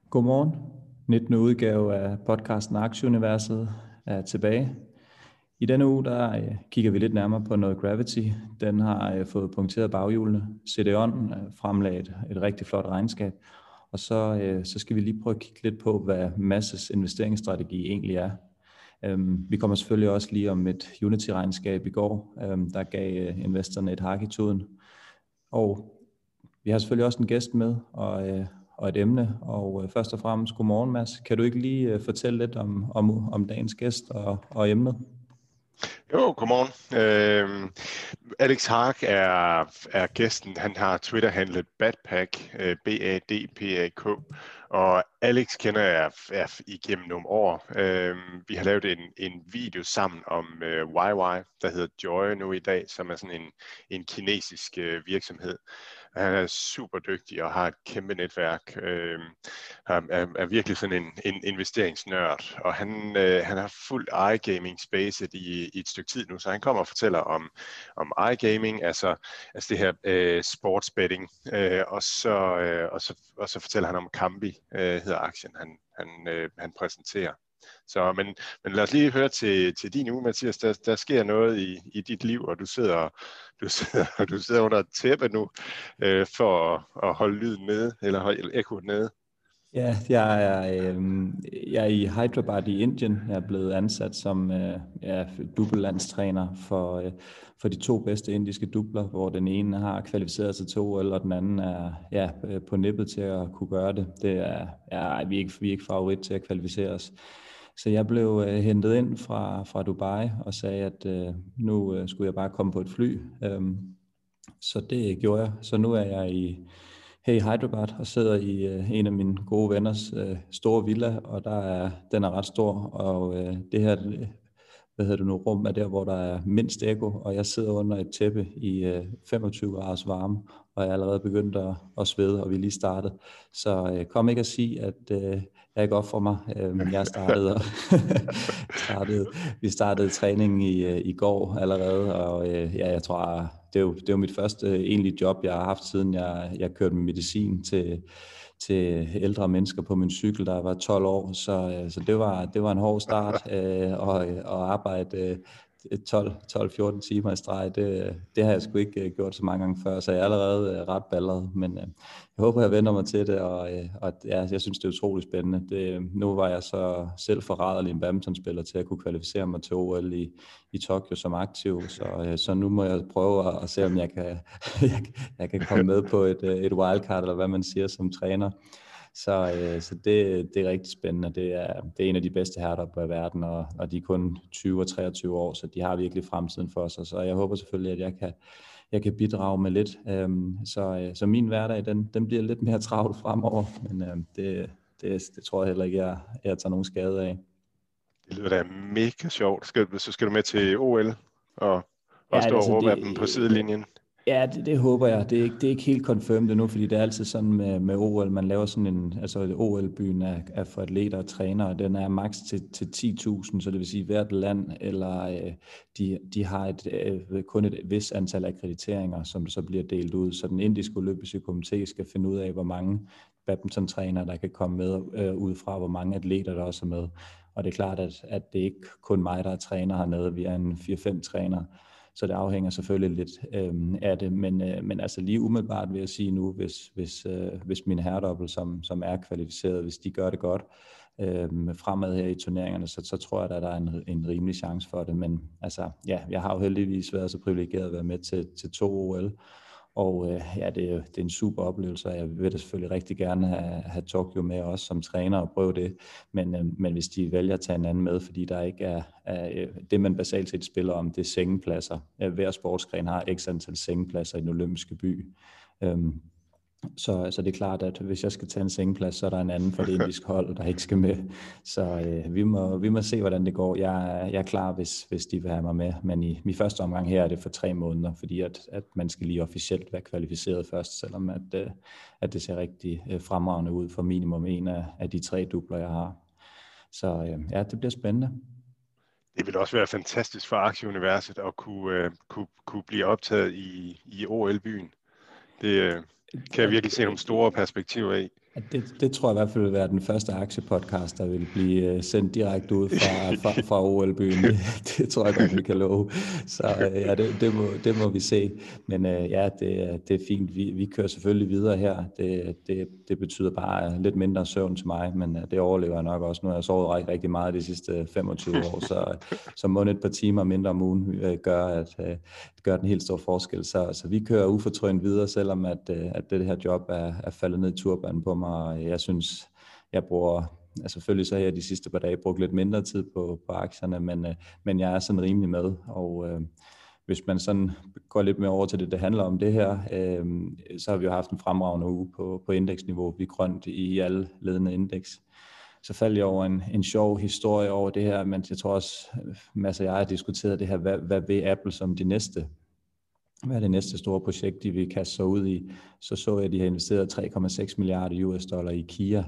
Godmorgen. 19. udgave af podcasten Aktieuniverset er tilbage. I denne uge der kigger vi lidt nærmere på noget Gravity. Den har fået punkteret baghjulene. CDON fremlagde et rigtig flot regnskab. Og så skal vi lige prøve at kigge lidt på, hvad Masses investeringsstrategi egentlig er. Vi kommer selvfølgelig også lige om et Unity-regnskab i går, der gav investorerne et hak i tuden. Og vi har selvfølgelig også en gæst med, og et emne, og først og fremmest godmorgen, Mads. Kan du ikke lige fortælle lidt om dagens gæst og emnet? Jo, godmorgen. Alex Haag er gæsten. Han har Twitter-handlet Badpak, B-A-D-P-A-K, og Alex kender jeg igennem nogle år. Vi har lavet en video sammen om YY, der hedder Joy nu i dag, som er sådan en kinesisk virksomhed. Han er super dygtig og har et kæmpe netværk. Er virkelig sådan en investeringsnørd, og han har fulgt iGaming-spacet i et stykke tid nu, så han kommer og fortæller om iGaming, altså det her sportsbetting, og så fortæller han om Kambi, hedder aktien, han præsenterer. Så, men lad os lige høre til din uge, Mathias. Der sker noget i dit liv, og du sidder under et tæppe nu for at holde lyden nede, eller holde ekkoet nede. Ja, jeg er i Hyderabad i Indien. Jeg er blevet ansat som dubbellandstræner for de to bedste indiske dubler, hvor den ene har kvalificeret sig til OL, og den anden er på nippet til at kunne gøre det. Vi er ikke favorit til at kvalificere os. Så jeg blev hentet ind fra Dubai og sagde, at nu skulle jeg bare komme på et fly. Så det gjorde jeg. Så nu er jeg her i Hyderabad og sidder i en af mine gode venners store villa, og den er ret stor, og det her rum er der, hvor der er mindst ekko, og jeg sidder under et tæppe i 25 graders varme, og jeg er allerede begyndt at svede, og vi er lige startet. Så kom ikke at sige, at jeg ikke offrer mig. Vi startede træningen i går allerede, og jeg tror, det er jo mit første egentlige job, jeg har haft, siden jeg kørte med medicin til ældre mennesker på min cykel, der var 12 år, så det var en hård start, og arbejde 12-14 timer i streg, det har jeg sgu ikke gjort så mange gange før, så jeg er allerede ret balleret, men jeg håber, jeg vender mig til det, og jeg synes, det er utroligt spændende. Nu var jeg så selv forræderlig en badmintonspiller til at kunne kvalificere mig til OL i Tokyo som aktiv, så nu må jeg prøve at se, om jeg kan komme med på et wildcard, eller hvad man siger som træner. Så det er rigtig spændende. Det er en af de bedste herrer i verden, og de er kun 20 og 23 år, så de har virkelig fremtiden for sig. Så jeg håber selvfølgelig, at jeg kan bidrage med lidt. Så min hverdag, den bliver lidt mere travlt fremover, men det tror jeg heller ikke, jeg tager nogen skade af. Det lyder da mega sjovt. Så skal du med til OL og stå og råbe af dem på sidelinjen. Ja, det håber jeg. Det er ikke helt confirmed endnu, fordi det er altid sådan med OL. Man laver sådan OL-byen er for atleter og trænere, og den er maks til 10.000, så det vil sige hvert land, eller de har kun et vis antal akkrediteringer, som så bliver delt ud. Så den indiske olympiske komité skal finde ud af, hvor mange badmintontrænere, der kan komme med ud fra, hvor mange atleter, der også er med. Og det er klart, at det er ikke kun mig, der er træner hernede. Vi er en 4-5 trænere. Så det afhænger selvfølgelig lidt af det, men altså lige umiddelbart vil jeg sige nu, hvis min herredobbel, som er kvalificeret, hvis de gør det godt fremad her i turneringerne, så tror jeg, at der er en rimelig chance for det. Men altså, ja, jeg har jo heldigvis været så privilegeret at være med til 2 OL, og det er en super oplevelse, og jeg vil da selvfølgelig rigtig gerne have Tokyo med også som træner og prøve det, men hvis de vælger at tage en anden med, fordi der ikke er det, man basalt set spiller om, det er sengepladser. Hver sportsgren har x antal sengepladser i den olympiske by. Så det er klart, at hvis jeg skal tage en sengeplads, så er der en anden for det indiske hold, der ikke skal med. Så vi må se, hvordan det går. Jeg er klar, hvis de vil have mig med. Men i første omgang her er det for 3 måneder, fordi at man skal lige officielt være kvalificeret først, selvom at det ser rigtig fremragende ud for minimum en af de 3 dubler, jeg har. Så ja, det bliver spændende. Det vil også være fantastisk for Aktieuniverset at kunne blive optaget i OL-byen. Det kan jeg virkelig se nogle store perspektiver i. Det tror jeg i hvert fald vil være den første aktiepodcast, der vil blive sendt direkte ud fra OL-byen. Det tror jeg godt, vi kan love. Så ja, det må vi se. Men ja, det er fint. Vi kører selvfølgelig videre her. Det betyder bare lidt mindre søvn til mig, men det overlever jeg nok også. Nu har jeg sovet rigtig meget de sidste 25 år, så må et par timer mindre om ugen gør den helt store forskel. Så vi kører ufortrødent videre, selvom at det her job er faldet ned i turbanen på mig. Og jeg synes, jeg bruger, selvfølgelig så har jeg de sidste par dage brugt lidt mindre tid på aktierne, men jeg er sådan rimelig med, og hvis man sådan går lidt mere over til det handler om det her, så har vi jo haft en fremragende uge på indeksniveau. Vi er grønt i alle ledende indeks. Så faldt jeg over en sjov historie over det her, men jeg tror også, Mads og jeg har diskuteret det her, hvad vil Apple som hvad er det næste store projekt, de vil kaste sig ud i? Så jeg, at de har investeret 3,6 milliarder US dollar i Kia,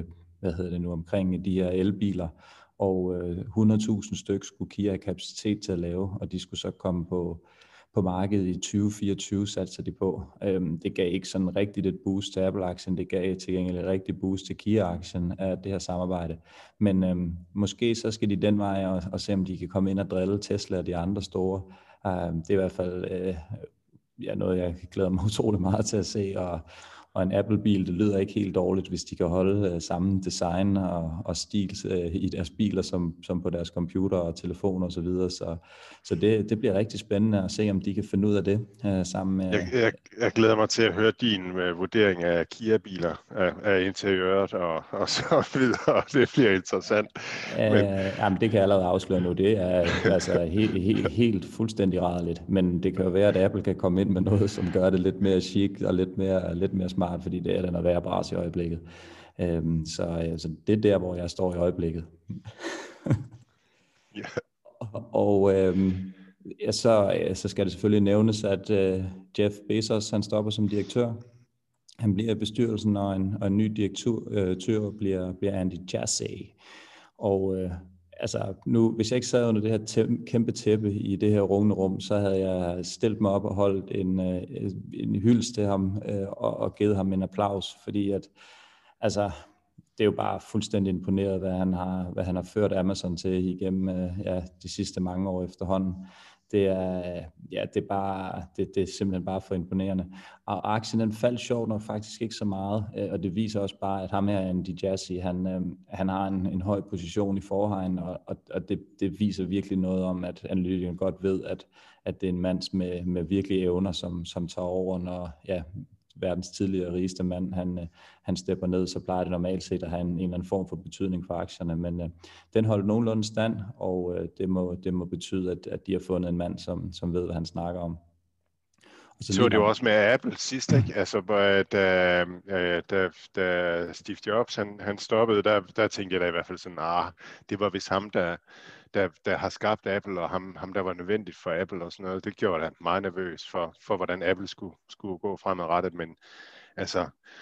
omkring de her elbiler, og 100.000 stykker skulle Kia have kapacitet til at lave, og de skulle så komme på markedet i 2024, satser de på. Det gav ikke sådan rigtigt et boost til Apple-aktien, det gav til gengæld et rigtigt boost til Kia-aktien af det her samarbejde. Men måske så skal de den vej og se, om de kan komme ind og drille Tesla og de andre store. Det er i hvert fald noget, jeg glæder mig utrolig meget til at se, og en Apple-bil, det lyder ikke helt dårligt, hvis de kan holde samme design og stil i deres biler, som på deres computer og telefoner og så videre. Så det bliver rigtig spændende at se, om de kan finde ud af det sammen med... Jeg glæder mig til at høre din vurdering af Kia-biler, af interiøret og så videre. Det bliver interessant. Jamen, det kan jeg allerede afsløre nu. Det er altså helt fuldstændig rædeligt. Men det kan jo være, at Apple kan komme ind med noget, som gør det lidt mere chic og lidt mere smart, fordi det er den at være bras i øjeblikket. Så det er der, hvor jeg står i øjeblikket. Yeah. Og så skal det selvfølgelig nævnes, at Jeff Bezos, han stopper som direktør. Han bliver i bestyrelsen, og en ny direktør bliver Andy Jassy. Og nu, hvis jeg ikke sad under det her kæmpe tæppe i det her rungende rum, så havde jeg stillet mig op og holdt en hyldest til ham og givet ham en applaus, fordi at det er jo bare fuldstændig imponeret, hvad han har ført Amazon til igennem de sidste mange år efterhånden. Det er simpelthen bare for imponerende. Og aktien den faldt sjovt nok faktisk ikke så meget, og det viser også bare, at ham her, Andy Jassy, han har en høj position i forvejen, og det viser virkelig noget om, at analytikeren godt ved, at det er en mand med virkelige evner, som tager over, når verdens tidligere rigeste mand, han stepper ned, så plejer det normalt set at have en eller anden form for betydning for aktierne, men den holdt nogenlunde stand, og det må betyde, at de har fundet en mand, som ved, hvad han snakker om. Og så det jo også med Apple sidst, ikke? Altså, da Steve Jobs han stoppede, der tænkte jeg da i hvert fald sådan, det var vist ham, der har skabt Apple, og ham der var nødvendigt for Apple og sådan noget. Det gjorde da meget nervøs for hvordan Apple skulle gå fremadrettet, men altså,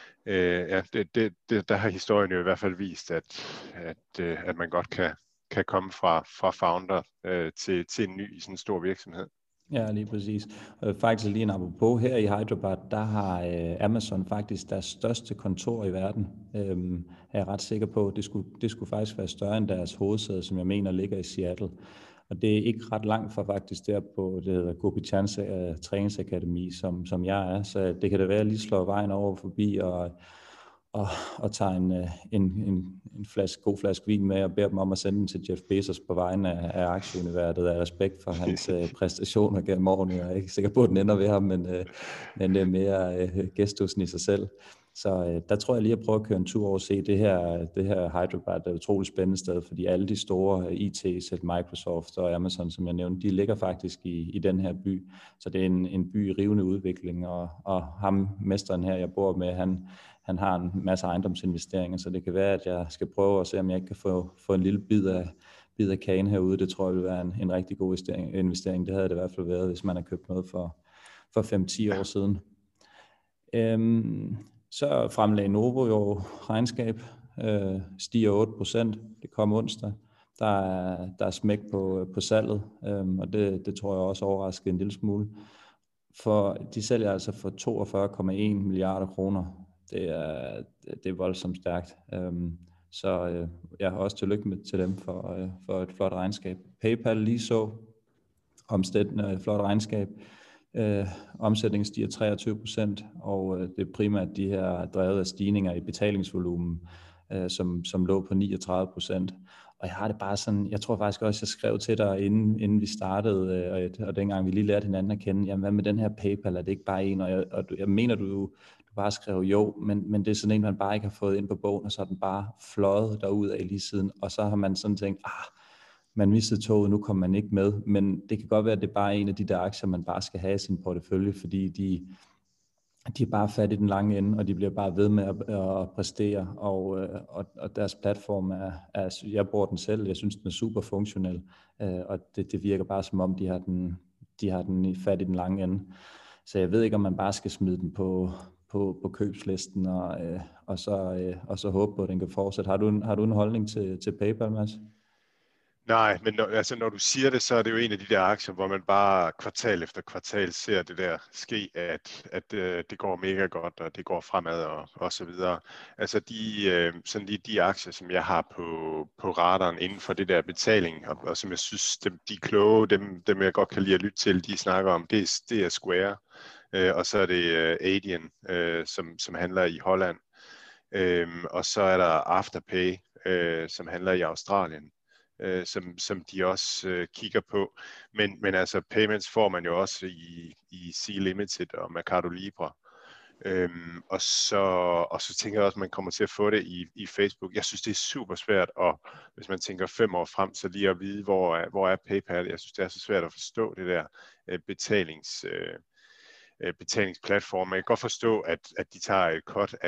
der har historien jo i hvert fald vist, at man godt kan komme fra founder til en ny sådan en stor virksomhed. Ja, lige præcis. Faktisk lige en apropos, her i Hyderabad, der har Amazon faktisk deres største kontor i verden. Er jeg ret sikker på. Det skulle faktisk være større end deres hovedsæde, som jeg mener ligger i Seattle. Og det er ikke ret langt fra faktisk der på, det hedder Gopi Chand Træningsakademi, som jeg er. Så det kan da være, at jeg lige slår vejen over forbi og tager en god flaske vin med og beder dem om at sende den til Jeff Bezos på vegne af aktieuniverset af respekt for hans præstationer gennem årene. Jeg er ikke sikker på, at den ender ved ham, men det er mere gestusen i sig selv. Så der tror jeg lige at prøve at køre en tur over og se det her Hyderabad er et utroligt spændende sted, fordi alle de store IT's, Microsoft og Amazon, som jeg nævnte, de ligger faktisk i den her by. Så det er en by i rivende udvikling, og ham, mesteren her, jeg bor med, han har en masse ejendomsinvesteringer, så det kan være, at jeg skal prøve at se, om jeg ikke kan få en lille bid af kagen herude. Det tror jeg vil være en rigtig god investering. Det havde det i hvert fald været, hvis man har købt noget for 5-10 år siden. Så fremlagde Novo jo regnskab, stiger 8%. Det kom onsdag. Der er smæk på salget, og det tror jeg også overraskede en lille smule. For de sælger altså for 42,1 milliarder kroner. det er voldsomt stærkt. Så jeg har også tillykke med til dem for et flot regnskab. PayPal lige så omstættende flot regnskab. Omsætningen stiger 23%, og det er primært de her drevet af stigninger i betalingsvolumen, som lå på 39%. Og jeg har det bare sådan, jeg tror faktisk også, jeg skrev til dig, inden vi startede, og dengang vi lige lærte hinanden at kende, jamen hvad med den her PayPal, er det ikke bare en? Og jeg mener, du bare skrev jo, men det er sådan en, man bare ikke har fået ind på bogen, og så er den bare fløjet derud af lige siden, og så har man sådan tænkt, man mistede toget, nu kommer man ikke med, men det kan godt være, at det er bare en af de der aktier, man bare skal have i sin portefølje, fordi de er bare fat i den lange ende, og de bliver bare ved med at præstere, og deres platform jeg bruger den selv, jeg synes, den er super funktionel, og det virker bare som om, de har den i fat i den lange ende. Så jeg ved ikke, om man bare skal smide den på købslisten, og så håbe på, at den kan fortsætte. Har du en holdning til PayPal, Mads? Nej, men når du siger det, så er det jo en af de der aktier, hvor man bare kvartal efter kvartal ser det der ske, at det går mega godt, og det går fremad og så videre. Altså sådan lige de aktier, som jeg har på radaren inden for det der betaling, og som jeg synes, de er kloge, dem jeg godt kan lide at lytte til, de snakker om, det er Square, og så er det Adyen, som handler i Holland, og så er der Afterpay, som handler i Australien. Som de også kigger på. Men altså payments får man jo også i Sea Limited og Mercado Libre. Og så tænker jeg også, at man kommer til at få det i Facebook. Jeg synes, det er super svært, og hvis man tænker 5 år frem, så lige at vide, hvor er PayPal. Jeg synes, det er så svært at forstå det der betalingsplatform. Jeg kan godt forstå, at de tager et cut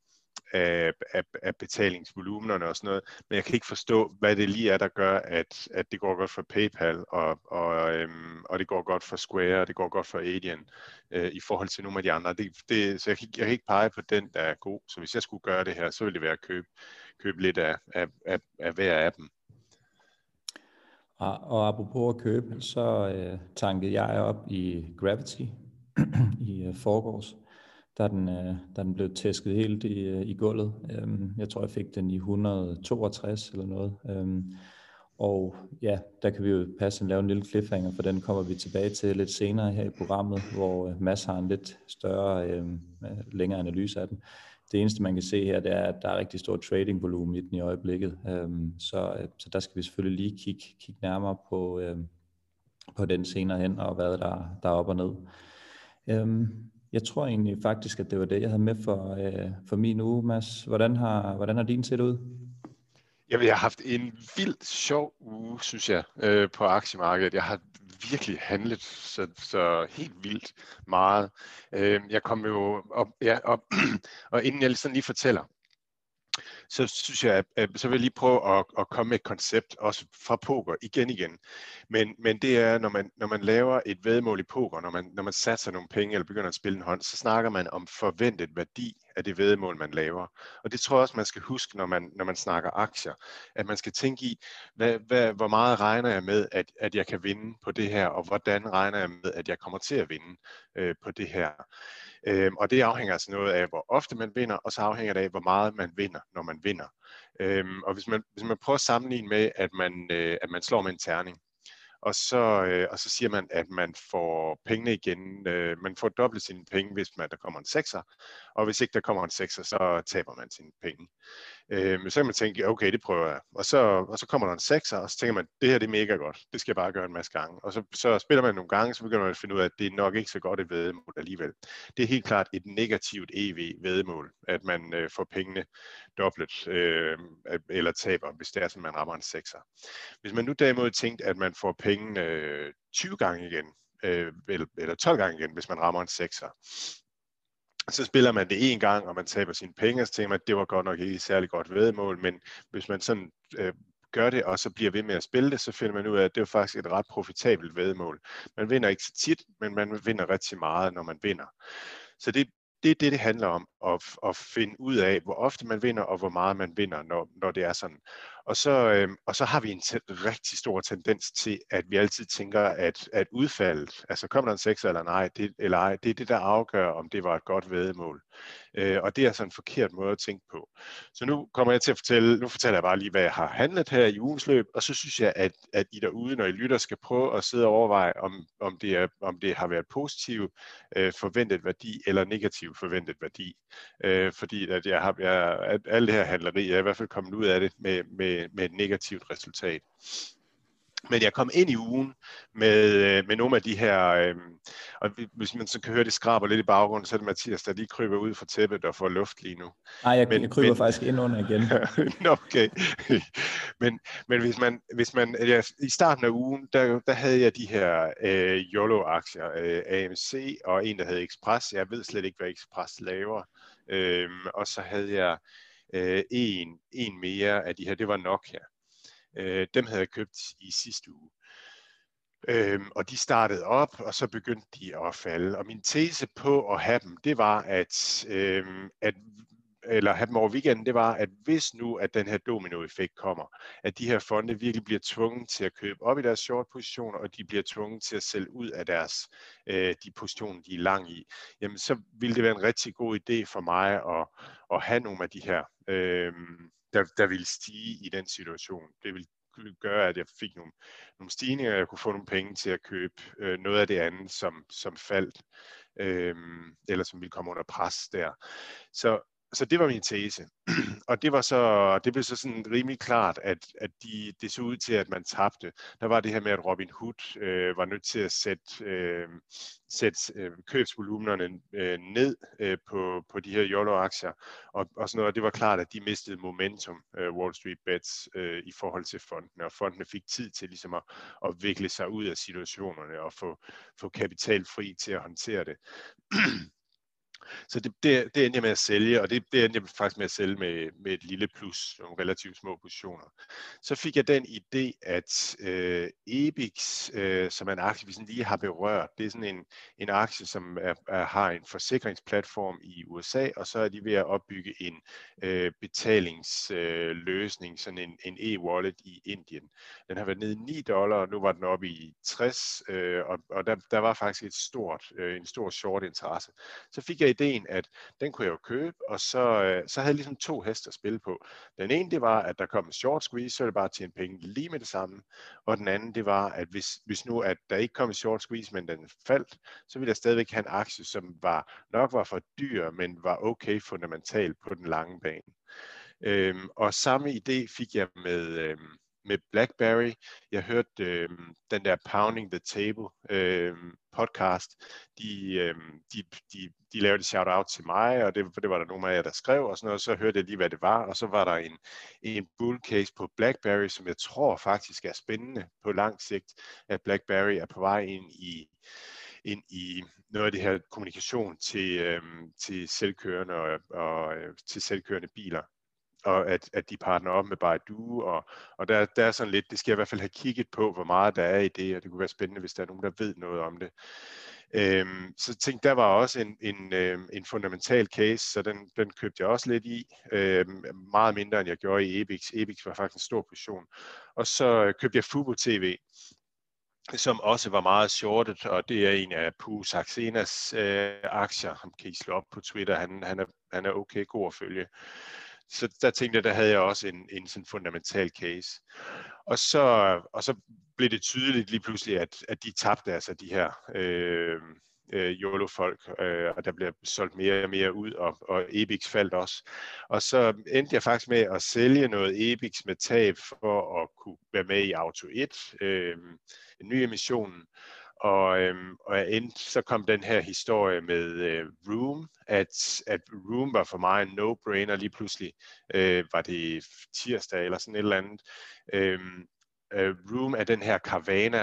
af betalingsvolumenerne og sådan noget, men jeg kan ikke forstå, hvad det lige er, der gør, at det går godt for PayPal, og det går godt for Square, og det går godt for Adyen, i forhold til nogle af de andre. Så jeg kan ikke pege på den, der er god. Så hvis jeg skulle gøre det her, så ville det være at købe lidt af hver af dem. Og apropos at købe, så tankede jeg op i Gravity i forgårs, da den blev tæsket helt i gulvet. Jeg tror, jeg fik den i 162 eller noget. Og ja, der kan vi jo passende lave en lille cliffhanger, for den kommer vi tilbage til lidt senere her i programmet, hvor Mads har en lidt større, længere analyse af den. Det eneste, man kan se her, det er, at der er rigtig stor tradingvolumen i den i øjeblikket. Så der skal vi selvfølgelig lige kigge nærmere på den senere hen, og hvad der er op og ned. Jeg tror egentlig faktisk, at det var det, jeg havde med for min uge, Mads. Hvordan har din set ud? Jeg har haft en vildt sjov uge, synes jeg, på aktiemarkedet. Jeg har virkelig handlet så helt vildt meget. Jeg kom jo op, og inden jeg sådan lige fortæller, så synes jeg, så vil jeg lige prøve at komme med et koncept, også fra poker, igen. Men det er, når man laver et væddemål i poker, når man satser nogle penge, eller begynder at spille en hånd, så snakker man om forventet værdi af det væddemål, man laver. Og det tror jeg også, man skal huske, når man snakker aktier, at man skal tænke i, hvor meget regner jeg med, at jeg kan vinde på det her, og hvordan regner jeg med, at jeg kommer til at vinde på det her. Og det afhænger altså noget af, hvor ofte man vinder, og så afhænger det af, hvor meget man vinder, når man vinder. Og hvis man prøver at sammenligne med, at man slår med en terning, og så siger man, at man får pengene igen. Man får dobbelt sine penge, hvis der kommer en 6'er, og hvis ikke der kommer en 6'er, så taber man sine penge. Så kan man tænke, okay, det prøver jeg. Og så kommer der en 6'er, og så tænker man, det her det er mega godt. Det skal jeg bare gøre en masse gange. Og så spiller man nogle gange, så begynder man at finde ud af, at det er nok ikke så godt et væddemål alligevel. Det er helt klart et negativt EV-væddemål, at man får pengene dobbelt eller taber, hvis det er sådan, man rammer en 6'er. Hvis man nu derimod tænkte, at man får pengene 20 gange igen, eller 12 gange igen, hvis man rammer en 6'er, så spiller man det en gang, og man taber sine penge, og så tænker man, at det var godt nok ikke et særlig godt væddemål, men hvis man sådan gør det, og så bliver ved med at spille det, så finder man ud af, at det er faktisk et ret profitabelt væddemål. Man vinder ikke så tit, men man vinder rigtig meget, når man vinder. Så det er det handler om, at finde ud af, hvor ofte man vinder, og hvor meget man vinder, når det er sådan. Og så har vi en rigtig stor tendens til, at vi altid tænker, at udfaldet, altså kommer der en 6 eller ej, det er det, der afgør, om det var et godt væddemål. Og det er altså en forkert måde at tænke på. Så nu kommer jeg til at fortæller jeg bare lige, hvad jeg har handlet her i ugens løb, og så synes jeg, at I derude, når I lytter, skal prøve at sidde og overveje, om det har været positiv forventet værdi eller negativ forventet værdi. Fordi at at alle det her handleri, jeg er i hvert fald kommet ud af det med et negativt resultat. Men jeg kom ind i ugen med nogle af de her, og hvis man så kan høre, det skraber lidt i baggrunden, så er det Mathias, der lige kryber ud fra tæppet og får luft lige nu. Nej, jeg kryber faktisk ind under igen. Okay. men i starten af ugen, der havde jeg de her YOLO-aktier, AMC og en, der hed Express. Jeg ved slet ikke, hvad Express laver. Og så havde jeg en mere af de her, det var Nokia. Dem havde jeg købt i sidste uge. Og de startede op, og så begyndte de at falde. Og min tese på at have dem, det var, eller have dem over weekenden, det var, at hvis nu, at den her dominoeffekt kommer, at de her fonde virkelig bliver tvunget til at købe op i deres short-positioner, og de bliver tvunget til at sælge ud af de positioner, de er lang i, jamen så ville det være en rigtig god idé for mig at have nogle af de her, der ville stige i den situation. Det ville gøre, at jeg fik nogle stigninger, og jeg kunne få nogle penge til at købe noget af det andet, som faldt, eller som ville komme under pres der. Så det var min tese. Og det blev så sådan rimelig klart, at det så ud til, at man tabte. Der var det her med, at Robin Hood var nødt til at sætte købsvolumenerne ned på de her YOLO-aktier, og sådan noget. Og det var klart, at de mistede momentum, Wall Street Bets, i forhold til fondene, og fondene fik tid til ligesom at vikle sig ud af situationerne og få kapital fri til at håndtere det. Så det endte jeg med at sælge, og det endte jeg faktisk med at sælge med et lille plus, nogle relativt små positioner. Så fik jeg den idé, at EBIX, som er en aktie, vi sådan lige har berørt, det er sådan en aktie, som har en forsikringsplatform i USA, og så er de ved at opbygge en betalingsløsning, sådan en e-wallet i Indien. Den har været nede i $9, og nu var den oppe i 60, og der var faktisk en stor short interesse. Så fik jeg ideen, at den kunne jeg jo købe, og så havde jeg ligesom 2 heste at spille på. Den ene, det var, at der kom en short squeeze, så er det bare at tjene penge lige med det samme. Og den anden, det var, at hvis nu, at der ikke kom en short squeeze, men den faldt, så ville jeg stadigvæk have en aktie, som nok var for dyr, men var okay fundamentalt på den lange bane. Og samme idé fik jeg med BlackBerry. Jeg hørte den der Pounding the Table podcast. De lavede et shout-out til mig, og det var der nogle af jer, der skrev, og sådan noget, og så hørte jeg lige, hvad det var, og så var der en bull case på BlackBerry, som jeg tror faktisk er spændende på lang sigt, at BlackBerry er på vej ind i noget af det her kommunikation til selvkørende og til selvkørende biler, og at de partner op med Baidu, og der er sådan lidt, det skal jeg i hvert fald have kigget på, hvor meget der er i det, og det kunne være spændende, hvis der er nogen, der ved noget om det. Så tænkte, der var også en fundamental case, så den købte jeg også lidt i, meget mindre end jeg gjorde i EBIX. EBIX var faktisk en stor position. Og så købte jeg Fubo TV, som også var meget shortet, og det er en af Poo Saxenas aktier. Ham kan I slå op på Twitter, han er okay god at følge. Så der tænkte jeg, der havde jeg også en sådan fundamental case. Og så blev det tydeligt lige pludselig, at de tabte altså de her YOLO-folk, og der bliver solgt mere og mere ud, og EBIX faldt også. Og så endte jeg faktisk med at sælge noget EBIX med tab for at kunne være med i Auto 1, en ny emission. Og så kom den her historie med Room, at Room var for mig en no-brainer. Lige pludselig var det tirsdag eller sådan et eller andet. Room er den her Carvana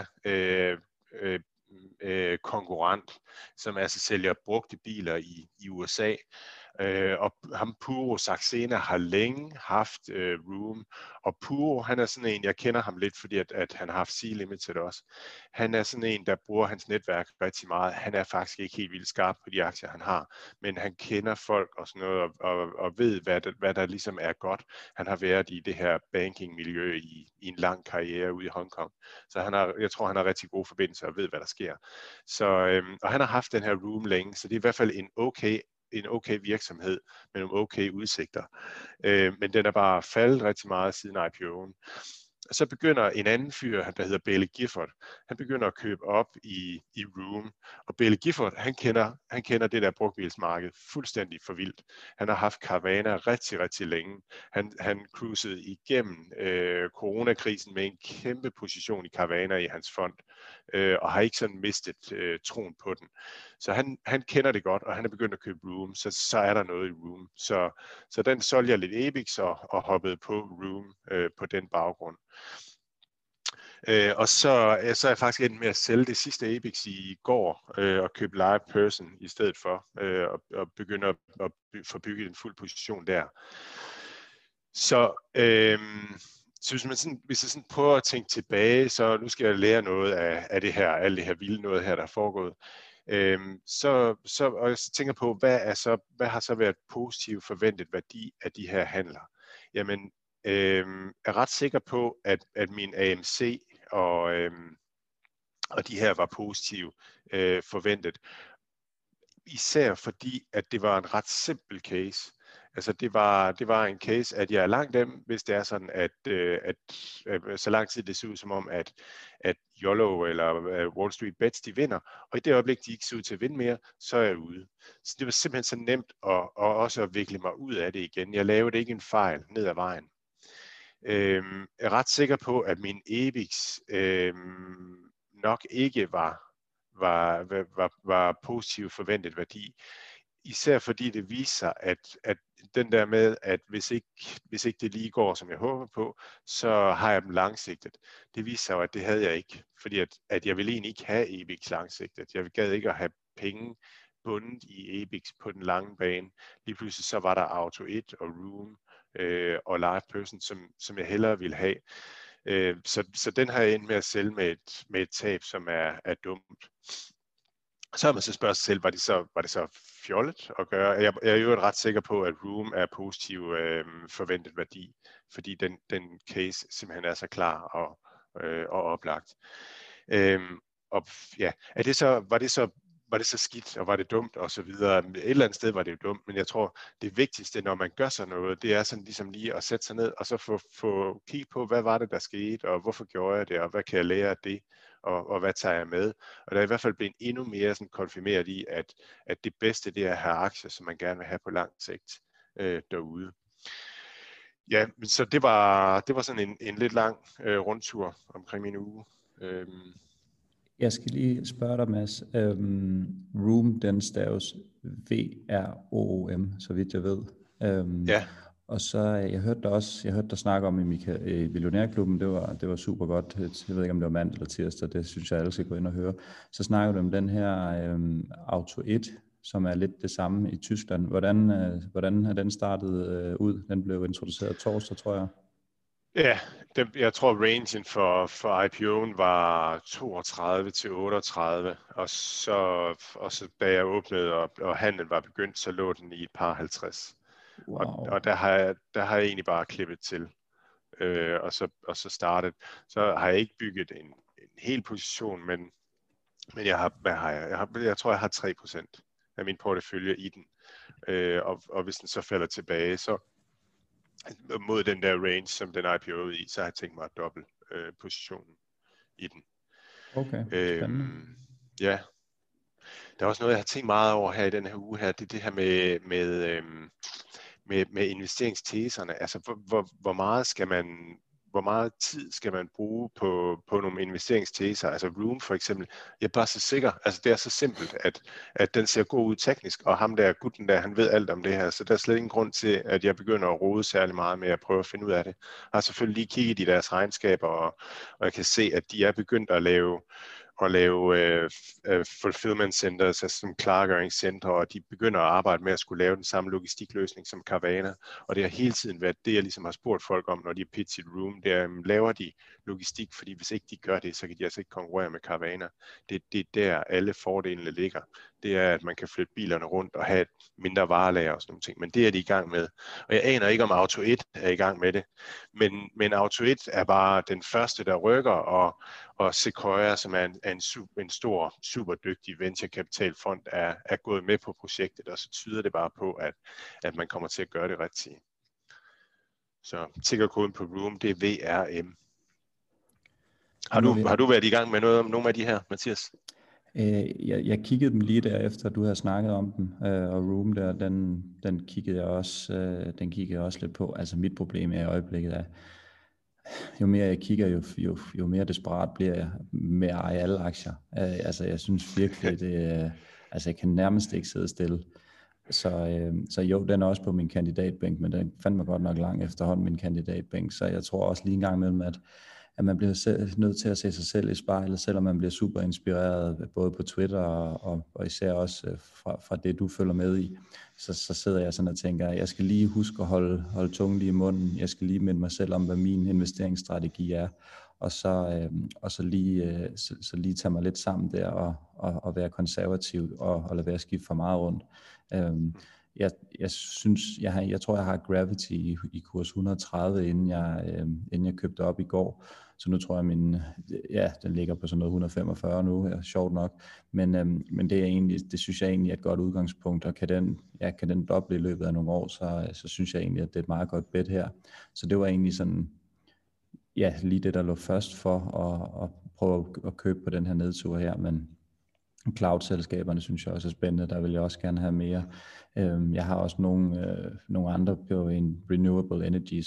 konkurrent, som altså sælger brugte biler i USA. Og ham Puro Saxena har længe haft Room, og Puro, han er sådan en, jeg kender ham lidt, fordi at han har haft C-Limited også. Han er sådan en, der bruger hans netværk rigtig meget. Han er faktisk ikke helt vildt skarp på de aktier, han har, men han kender folk og sådan noget, og ved, hvad der ligesom er godt. Han har været i det her banking-miljø i en lang karriere ude i Hongkong, så jeg tror, han har rigtig gode forbindelser og ved, hvad der sker. Så, og han har haft den her Room længe, så det er i hvert fald en okay virksomhed med nogle okay udsigter. Men den er bare faldet rigtig meget siden IPO'en. Så begynder en anden fyr, der hedder Bailey Gifford, han begynder at købe op i Room. Og Bailey Gifford, han kender det der brugtbilsmarked fuldstændig for vildt. Han har haft Carvana rigtig, rigtig længe. Han cruisede igennem coronakrisen med en kæmpe position i Carvana i hans fond, og har ikke sådan mistet troen på den. Så han kender det godt, og han er begyndt at købe Room, så er der noget i Room. Så den solgte jeg lidt Ebix og hoppede på Room på den baggrund. Og så er jeg faktisk endt med at sælge det sidste Ebix i går og købe LivePerson i stedet for, og begynde at få bygget en fuld position der. Så hvis jeg sådan prøver at tænke tilbage, så nu skal jeg lære noget af det her, alt det her vilde noget her, der er foregået. Og jeg tænker på, hvad har så været positiv forventet værdi af de her handler? Jamen, er ret sikker på, at min AMC og de her var positive forventet. Især fordi, at det var en ret simpel case. Altså det var en case, at jeg er langt dem, hvis det er sådan, at så lang tid det ser ud som om, at YOLO eller Wall Street Bets, de vinder. Og i det øjeblik, de ikke ser ud til at vinde mere, så er jeg ude. Så det var simpelthen så nemt at også at vikle mig ud af det igen. Jeg lavede ikke en fejl ned ad vejen. Jeg er ret sikker på, at min Ebix nok ikke var positiv forventet værdi. Især fordi det viser, at den der med, at hvis ikke det lige går, som jeg håber på, så har jeg dem langsigtet. Det viser jo, at det havde jeg ikke, fordi at jeg ville egentlig ikke have Ebix langsigtet. Jeg gad ikke at have penge bundet i Ebix på den lange bane. Lige pludselig så var der Auto 1 og Room og LivePerson, som jeg hellere ville have. Så den har jeg endt med at sælge med et tab, som er dumt. Så har man så spørget sig selv, var det så fjollet at gøre? Jeg er jo ret sikker på, at Room er positiv forventet værdi, fordi den case simpelthen er så klar og oplagt. Og ja, var det så skidt, og var det dumt, og så videre. Et eller andet sted var det jo dumt, men jeg tror, det vigtigste, når man gør sådan noget, det er sådan ligesom lige at sætte sig ned, og så få kigge på, hvad var det, der skete, og hvorfor gjorde jeg det, og hvad kan jeg lære af det, og hvad tager jeg med? Og der er i hvert fald blevet endnu mere sådan konfirmeret i, at det bedste, det er at have aktier, som man gerne vil have på lang sigt derude. Ja, så det var sådan en lidt lang rundtur omkring min uge. Jeg skal lige spørge dig, Mads. Room, den staves VROOM, så vidt jeg ved. Ja. Og så jeg hørte dig snakke om i Millionærklubben, det var super godt. Jeg ved ikke, om det var mandag eller tirsdag, det synes jeg alle skal gå ind og høre. Så snakker du om den her Auto 1, som er lidt det samme i Tyskland. Hvordan er den startet ud? Den blev introduceret torsdag, tror jeg. Ja, jeg tror rangen for IPO'en var 32 til 38, og så da jeg åbnede, og handlen var begyndt, så lå den i et par 50. Wow. Og der har jeg egentlig bare klippet til, og så startet. Så har jeg ikke bygget en hel position, men jeg tror, jeg har 3% af min portefølje i den. Og hvis den så falder tilbage, så mod den der range, som den IPO i, så har jeg tænkt mig at dobbelt positionen i den. Okay, spændende. Ja. Der er også noget, jeg har tænkt meget over her i den her uge her, det er det her med investeringsteserne. Altså, hvor meget tid skal man bruge på nogle investeringsteser? Altså Room for eksempel, jeg er bare så sikker, altså det er så simpelt, at den ser god ud teknisk, og ham der, gutten der, han ved alt om det her, så der er slet ingen grund til, at jeg begynder at rode særlig meget med at prøve at finde ud af det. Jeg har selvfølgelig lige kigget i deres regnskaber, og jeg kan se, at de er begyndt at lave at lave fulfillment centers, altså som klargøringscentre, og de begynder at arbejde med at skulle lave den samme logistikløsning som Carvana. Og det har hele tiden været det, jeg ligesom har spurgt folk om, når de har pitchet Room, det er, laver de logistik, fordi hvis ikke de gør det, så kan de altså ikke konkurrere med Carvana. Det er der alle fordelene ligger. Det er, at man kan flytte bilerne rundt og have et mindre varelager og sådan nogle ting. Men det er de i gang med. Og jeg aner ikke, om Auto 1 er i gang med det. Men Auto 1 er bare den første, der rykker, og Sequoia, som er en stor, super dygtig venturekapitalfond, er gået med på projektet, og så tyder det bare på, at man kommer til at gøre det rigtigt. Så tickerkoden på Room, det er VRM. Har du været i gang med nogle af de her, Mathias? Jeg kiggede dem lige derefter, du havde snakket om dem, og Room der, den kiggede jeg også lidt på. Altså mit problem er i øjeblikket, at jo mere jeg kigger, jo mere desperat bliver jeg med at eje alle aktier. Altså jeg synes virkelig, altså jeg kan nærmest ikke sidde stille. Så jo, den er også på min kandidatbænk, men den fandt mig godt nok langt efterhånden, min kandidatbænk. Så jeg tror også lige en gang imellem, at man bliver nødt til at se sig selv i spejlet, selvom man bliver super inspireret, både på Twitter og især også fra det, du følger med i. Så sidder jeg sådan og tænker, at jeg skal lige huske at holde tungen lige i munden. Jeg skal lige minde mig selv om, hvad min investeringsstrategi er. Og så lige tage mig lidt sammen der og være konservativ og lade være skifte for meget rundt. Jeg tror, jeg har Gravity i kurs 130, inden jeg købte op i går. Så nu tror jeg, den ligger på sådan noget 145 nu, sjovt nok. Men det synes jeg egentlig er et godt udgangspunkt, og kan den doble i løbet af nogle år, så synes jeg egentlig, at det er et meget godt bet her. Så det var egentlig sådan, lige det, der lå først for at prøve at købe på den her nedtur her, men cloud-selskaberne synes jeg også er spændende, der vil jeg også gerne have mere. Jeg har også nogle andre på en renewable energy,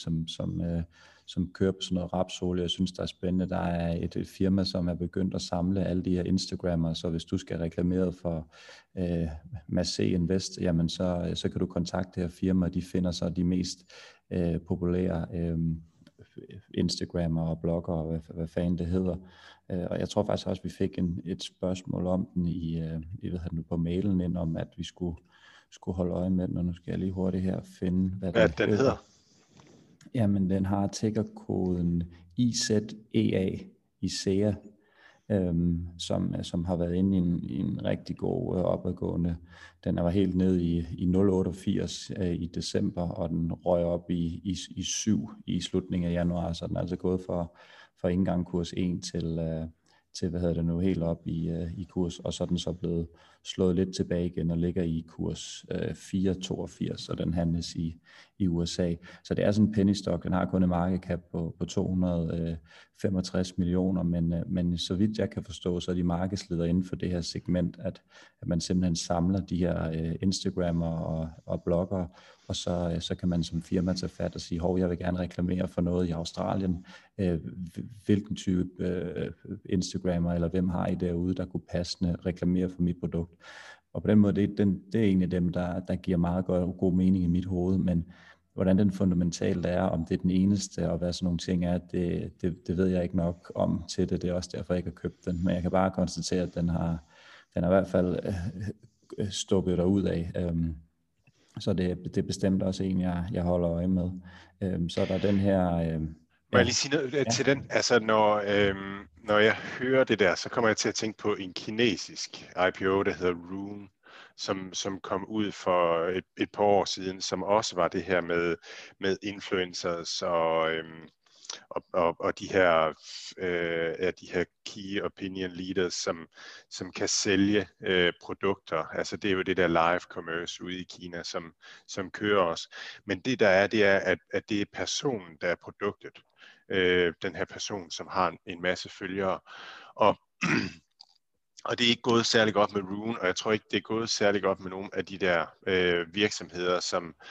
som kører på sådan noget rapsolie, jeg synes, der er spændende. Der er et firma, som er begyndt at samle alle de her Instagrammer, så hvis du skal reklamere for Massé Invest, jamen så kan du kontakte det her firma, de finder så de mest populære Instagrammer og blogger og hvad fanden det hedder. Og jeg tror faktisk også, at vi fik et spørgsmål om den på mailen ind, om at vi skulle holde øje med den, og nu skal jeg lige hurtigt her finde, hvad den hedder. Jamen, den har tickerkoden IZEA, IZEA, som har været inde i en rigtig god opadgående. Den var helt ned i 0,88 i december, og den røg op i 7 i slutningen af januar, så den er altså gået for ikke engang kurs 1 til helt op i kurs, og så er den så blevet slået lidt tilbage igen og ligger i kurs 4,82, og den handles i USA. Så det er sådan en penny stock, den har kun en market cap på 265 millioner, men så vidt jeg kan forstå, så er de markedsledere inden for det her segment, at man simpelthen samler de her Instagrammer og blogger, og så kan man som firma tage fat og sige, jeg vil gerne reklamere for noget i Australien. Hvilken type Instagrammer eller hvem har I derude, der kunne passende reklamere for mit produkt? Og på den måde, det er egentlig dem, der giver meget god mening i mit hoved, men hvordan den fundamentalt er, om det er den eneste, og hvad sådan nogle ting er, det ved jeg ikke nok om til det. Det er også derfor, jeg ikke har købt den. Men jeg kan bare konstatere, at den har i hvert fald stukket derud af. Så det er bestemt også en, jeg holder øje med. Så der er den her... Må jeg lige sige noget til den? Altså, når jeg hører det der, så kommer jeg til at tænke på en kinesisk IPO, der hedder Rune, som kom ud for et par år siden, som også var det her med influencers og de her key opinion leaders, som kan sælge produkter. Altså det er jo det der live commerce ude i Kina, som kører os. Men det der er, det er, at det er personen, der er produktet. Den her person, som har en masse følgere. Og det er ikke gået særlig godt med Rune, og jeg tror ikke, det er gået særlig godt med nogle af de der virksomheder,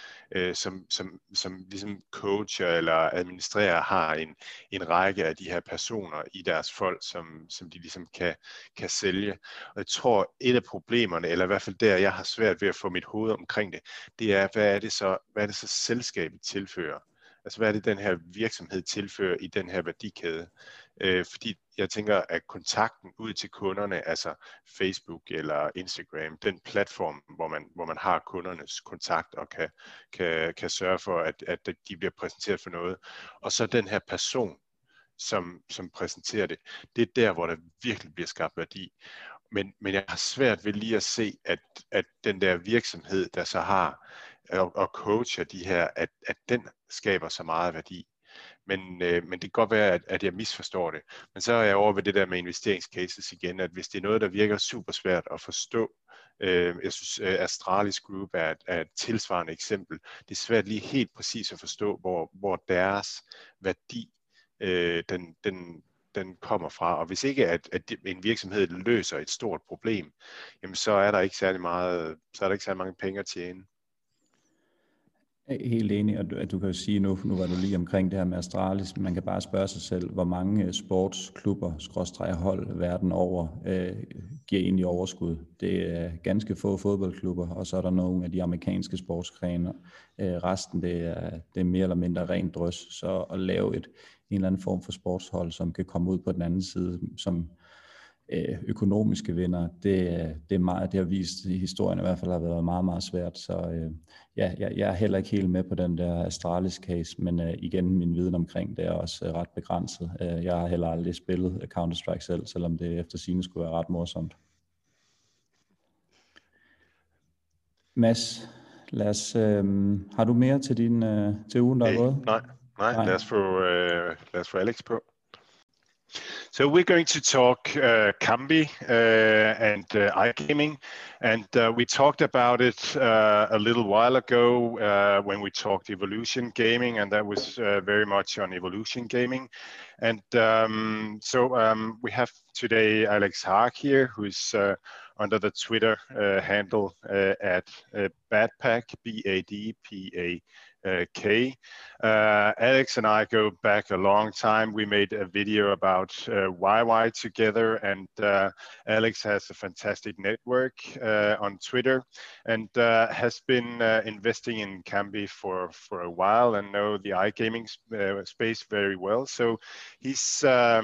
som ligesom coacher eller administrerer, har en række af de her personer i deres folk, som de ligesom kan sælge. Og jeg tror, et af problemerne, eller i hvert fald der, jeg har svært ved at få mit hoved omkring det, det er, hvad er det så selskabet tilfører? Altså, hvad er det, den her virksomhed tilfører i den her værdikæde? Fordi jeg tænker, at kontakten ud til kunderne, altså Facebook eller Instagram, den platform, hvor man har kundernes kontakt og kan sørge for, at de bliver præsenteret for noget, og så den her person, som præsenterer det, det er der, hvor der virkelig bliver skabt værdi. Men jeg har svært ved lige at se, at den der virksomhed, der så har og coacher de her, at den skaber så meget værdi. Men det kan godt være, at jeg misforstår det. Men så er jeg over ved det der med investeringscases igen, at hvis det er noget, der virker super svært at forstå, jeg synes, Astralis Group er et tilsvarende eksempel. Det er svært lige helt præcis at forstå, hvor deres værdi den kommer fra. Og hvis ikke at en virksomhed løser et stort problem, jamen så er der ikke særlig mange penge at tjene. Helt enig, og du kan jo sige, nu var du lige omkring det her med Astralis, man kan bare spørge sig selv, hvor mange sportsklubber, hold verden over, giver egentlig overskud. Det er ganske få fodboldklubber, og så er der nogle af de amerikanske sportsgrene. Resten, det er mere eller mindre rent drøs, så at lave en eller anden form for sportshold, som kan komme ud på den anden side, som økonomiske vinder, det er meget, det har vist i historien i hvert fald har været meget, meget svært, så jeg er heller ikke helt med på den der Astralis case, men igen, min viden omkring det er også ret begrænset. Jeg har heller aldrig spillet Counter-Strike selv, selvom det efter sigende skulle være ret morsomt. Mads, har du mere til til ugen, der er gået? Nej. Lad os få Alex på. So we're going to talk Kambi and iGaming, and we talked about it a little while ago when we talked Evolution Gaming, and that was very much on Evolution Gaming. And we have today Alex Haag here, who's under the Twitter handle at Badpak, BADPAK. Alex and I go back a long time. We made a video about YY together, and Alex has a fantastic network on Twitter and has been investing in Kambi for a while and know the iGaming space very well. So he's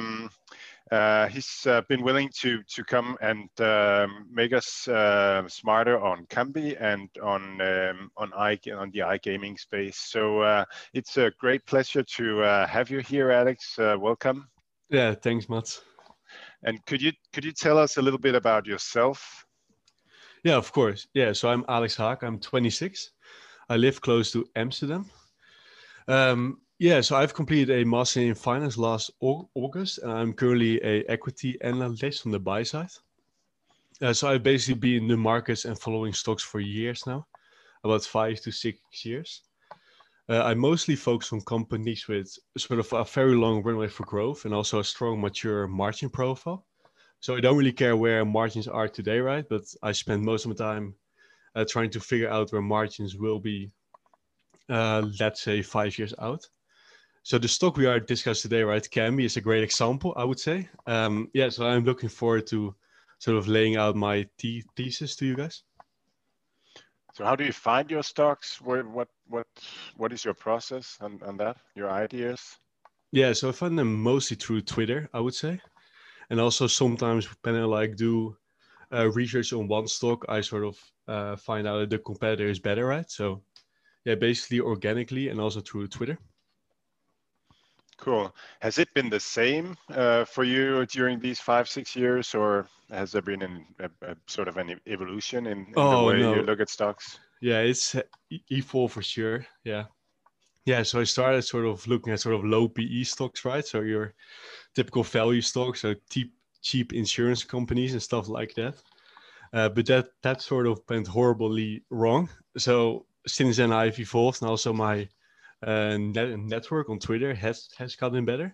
been willing to come and make us smarter on Kambi and on the iGaming space. So it's a great pleasure to have you here, Alex. Welcome. Yeah, thanks, Mats. And could you tell us a little bit about yourself? Yeah, of course. Yeah, so I'm Alex Haag. I'm 26. I live close to Amsterdam. So I've completed a master in finance last August, and I'm currently an equity analyst on the buy side. So I've basically been in the markets and following stocks for years now, about 5 to 6 years. I mostly focus on companies with sort of a very long runway for growth and also a strong, mature margin profile. So I don't really care where margins are today, right? But I spend most of my time trying to figure out where margins will be, let's say, 5 years out. So the stock we are discussing today, right, Kambi, is a great example, I would say. So I'm looking forward to sort of laying out my thesis to you guys. So how do you find your stocks? What is your process on that? Your ideas? Yeah, so I find them mostly through Twitter, I would say, and also sometimes when I do research on one stock, I sort of find out that the competitor is better, right? So yeah, basically organically and also through Twitter. Cool. Has it been the same for you during these 5-6 years, or has there been a sort of an evolution in the way you look at stocks? Yeah, it's evolved for sure. Yeah. So I started sort of looking at sort of low PE stocks, right? So your typical value stocks, so cheap insurance companies and stuff like that. But that sort of went horribly wrong. So since then I've evolved, and also my network on Twitter has gotten better.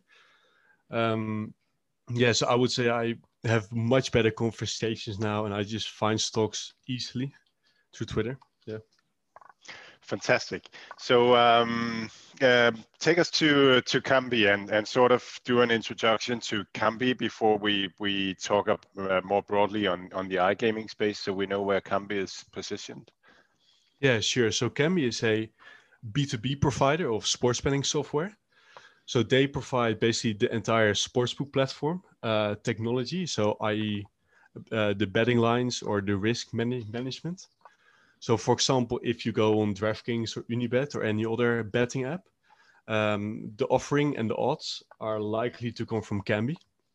So I would say I have much better conversations now, and I just find stocks easily through Twitter. Yeah. Fantastic. So take us to Kambi and sort of do an introduction to Kambi before we talk up more broadly on the iGaming space, so we know where Kambi is positioned. Yeah, sure. So Kambi is a B2B provider of sports betting software. So they provide basically the entire sportsbook platform technology, so i.e. The betting lines or the risk management. So for example, if you go on DraftKings or Unibet or any other betting app, the offering and the odds are likely to come from Kambi.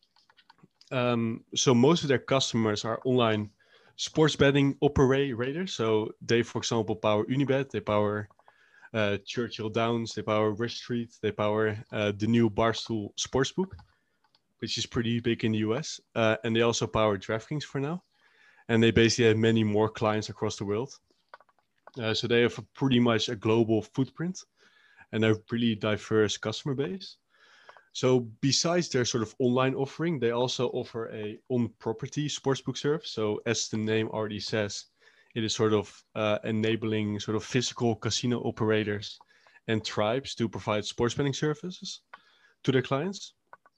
So most of their customers are online sports betting operators. So they, for example, power Unibet, they power Churchill Downs, they power Rush Street, they power the new Barstool Sportsbook, which is pretty big in the US. And they also power DraftKings for now. And they basically have many more clients across the world. So they have pretty much a global footprint and a really diverse customer base. So besides their sort of online offering, they also offer a on-property sportsbook service. So as the name already says, it is sort of enabling sort of physical casino operators and tribes to provide sports betting services to their clients.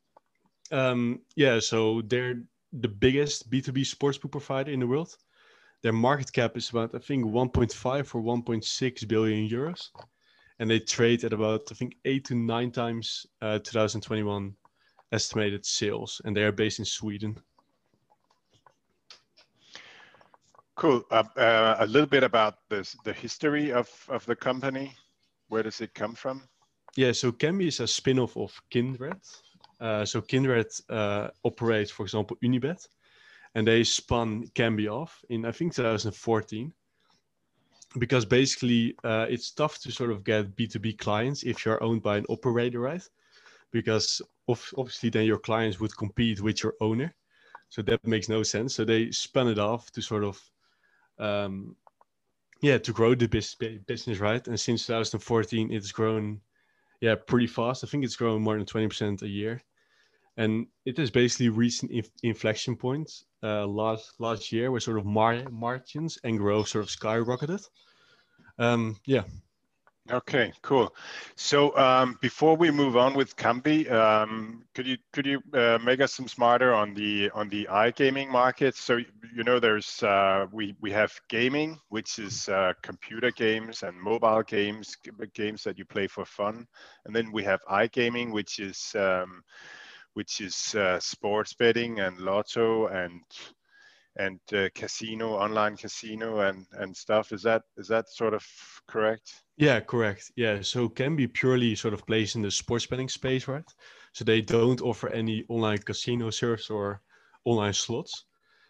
So they're the biggest B2B sportsbook provider in the world. Their market cap is about, I think, 1.5 or 1.6 billion euros. And they trade at about, I think, 8 to 9 times 2021 estimated sales. And they are based in Sweden. Cool. A little bit about the history of the company. Where does it come from? Yeah, so Kambi is a spin-off of Kindred. So Kindred operates, for example, Unibet. And they spun Kambi off in, I think, 2014. Because basically, it's tough to sort of get B2B clients if you're owned by an operator, right? Because obviously then your clients would compete with your owner. So that makes no sense. So they spun it off to sort of, to grow the business, right? And since 2014, it's grown, pretty fast. I think it's grown more than 20% a year. And it has basically reached an inflection point last year where sort of margins and growth sort of skyrocketed. Okay, cool. So before we move on with Kambi, could you make us some smarter on the iGaming market? So there's we have gaming, which is computer games and mobile games that you play for fun, and then we have iGaming, which is sports betting and lotto and casino, online casino and stuff. Is that sort of correct? Yeah, correct. Yeah, so Kambi purely sort of plays in the sports betting space, right? So they don't offer any online casino service or online slots.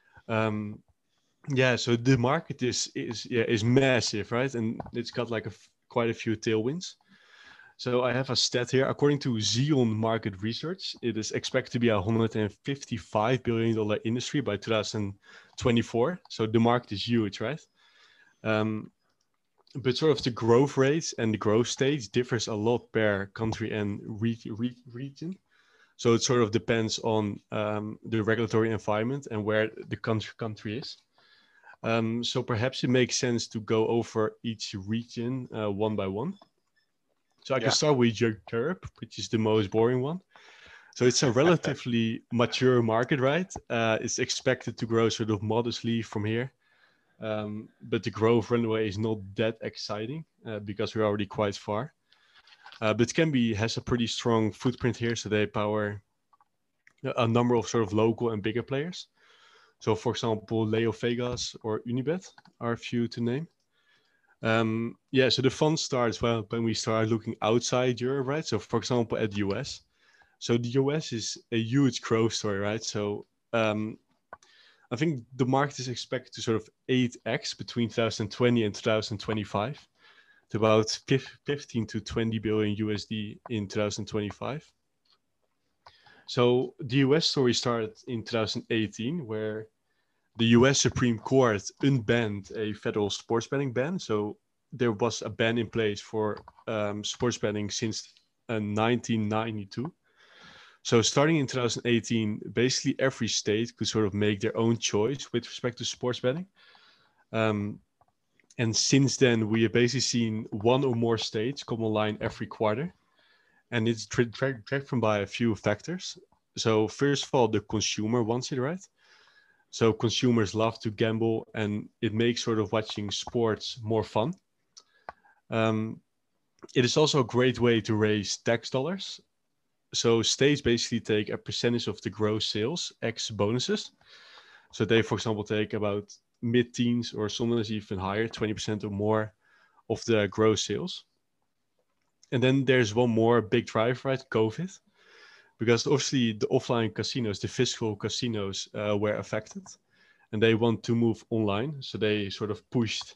So the market is massive, right? And it's got like quite a few tailwinds. So I have a stat here. According to Zion Market Research, it is expected to be a $155 billion industry by 2024. So the market is huge, right? But sort of the growth rates and the growth stage differs a lot per country and region. So it sort of depends on the regulatory environment and where the country is. So perhaps it makes sense to go over each region one by one. So I can start with Europe, which is the most boring one. So it's a relatively mature market, right? It's expected to grow sort of modestly from here. But the growth runway is not that exciting because we're already quite far. But Kambi has a pretty strong footprint here. So they power a number of sort of local and bigger players. So for example, Leo Vegas or Unibet are a few to name. So the fun starts when we start looking outside Europe, right? So for example, at the US. So the US is a huge growth story, right? So I think the market is expected to sort of 8x between 2020 and 2025 to about 15 to 20 billion USD in 2025. So the US story started in 2018, where the US Supreme Court unbanned a federal sports betting ban. So there was a ban in place for sports betting since 1992. So starting in 2018, basically every state could sort of make their own choice with respect to sports betting. And since then, we have basically seen one or more states come online every quarter. And it's driven by a few factors. So first of all, the consumer wants it, right? So consumers love to gamble and it makes sort of watching sports more fun. It is also a great way to raise tax dollars. So states basically take a percentage of the gross sales ex bonuses. So they, for example, take about mid-teens or sometimes even higher, 20% or more of the gross sales. And then there's one more big driver, right? COVID. Because obviously the offline casinos, the physical casinos were affected and they want to move online. So they sort of pushed,